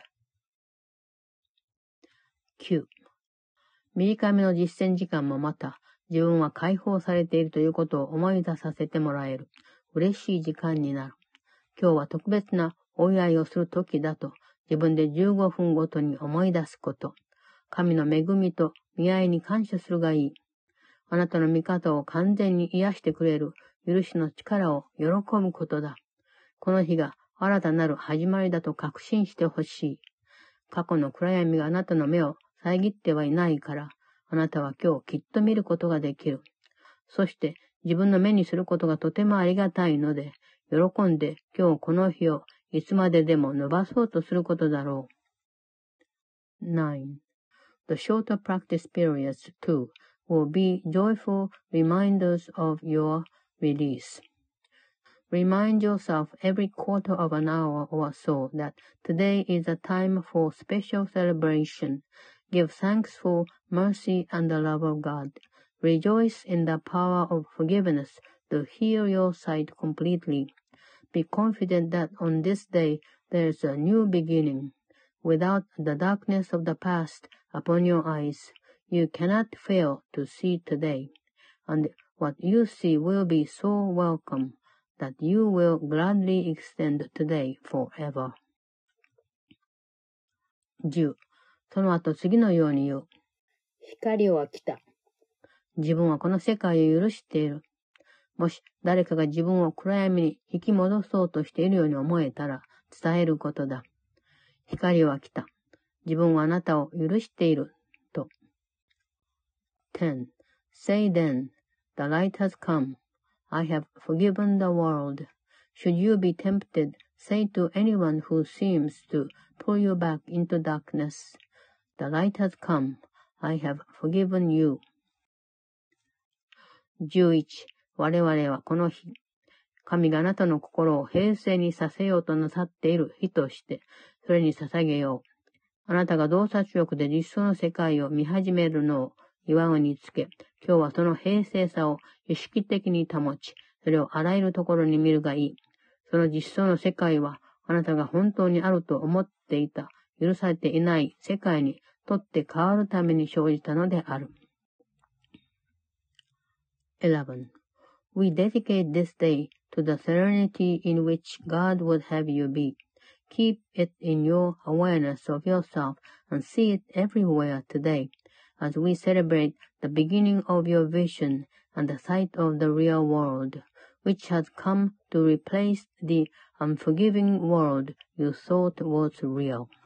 9. 短めの実践時間もまた、自分は解放されているということを思い出させてもらえる。嬉しい時間になる。今日は特別なお祝いをする時だと、自分で15分ごとに思い出すこと。神の恵みと見合いに感謝するがいい。あなたの味方を完全に癒してくれる許しの力を喜ぶことだ。この日が新たなる始まりだと確信してほしい。過去の暗闇があなたの目を遮ってはいないから、あなたは今日きっと見ることができる。そして自分の目にすることがとてもありがたいので、喜んで今日この日をいつまででも伸ばそうとすることだろう。9. The shorter practice periods, too, will be joyful reminders of your release. Remind yourself every quarter of an hour or so that today is a time for special celebration. Give thanks for mercy and the love of God. Rejoice in the power of forgiveness to heal your sight completely. Be confident that on this day there is a new beginning. Without the darkness of the past upon your eyes, you cannot fail to see today. And what you see will be so welcome that you will gladly extend today forever. 10. その後次のように言う。光は来た。自分はこの世界を許している。もし誰かが自分を暗闇に引き戻そうとしているように思えたら伝えることだ。光は来た。自分はあなたを許している。と。10. Say then, the light has come. I have forgiven the world. Should you be tempted, say to anyone who seems to pull you back into darkness, The light has come. I have forgiven you. 11. 我々はこの日、神があなたの心を平静にさせようとなさっている日として、それに捧げよう。あなたが洞察力で実相の世界を見始めるのを祝うにつけ、今日はその平静さを意識的に保ち、それをあらゆるところに見るがいい。その実相の世界は、あなたが本当にあると思っていた、許されていない世界にとって変わるために生じたのである。11. We dedicate this day to the serenity in which God would have you be. Keep it in your awareness of yourself and see it everywhere today, as we celebrate the beginning of your vision and the sight of the real world, which has come to replace the unforgiving world you thought was real.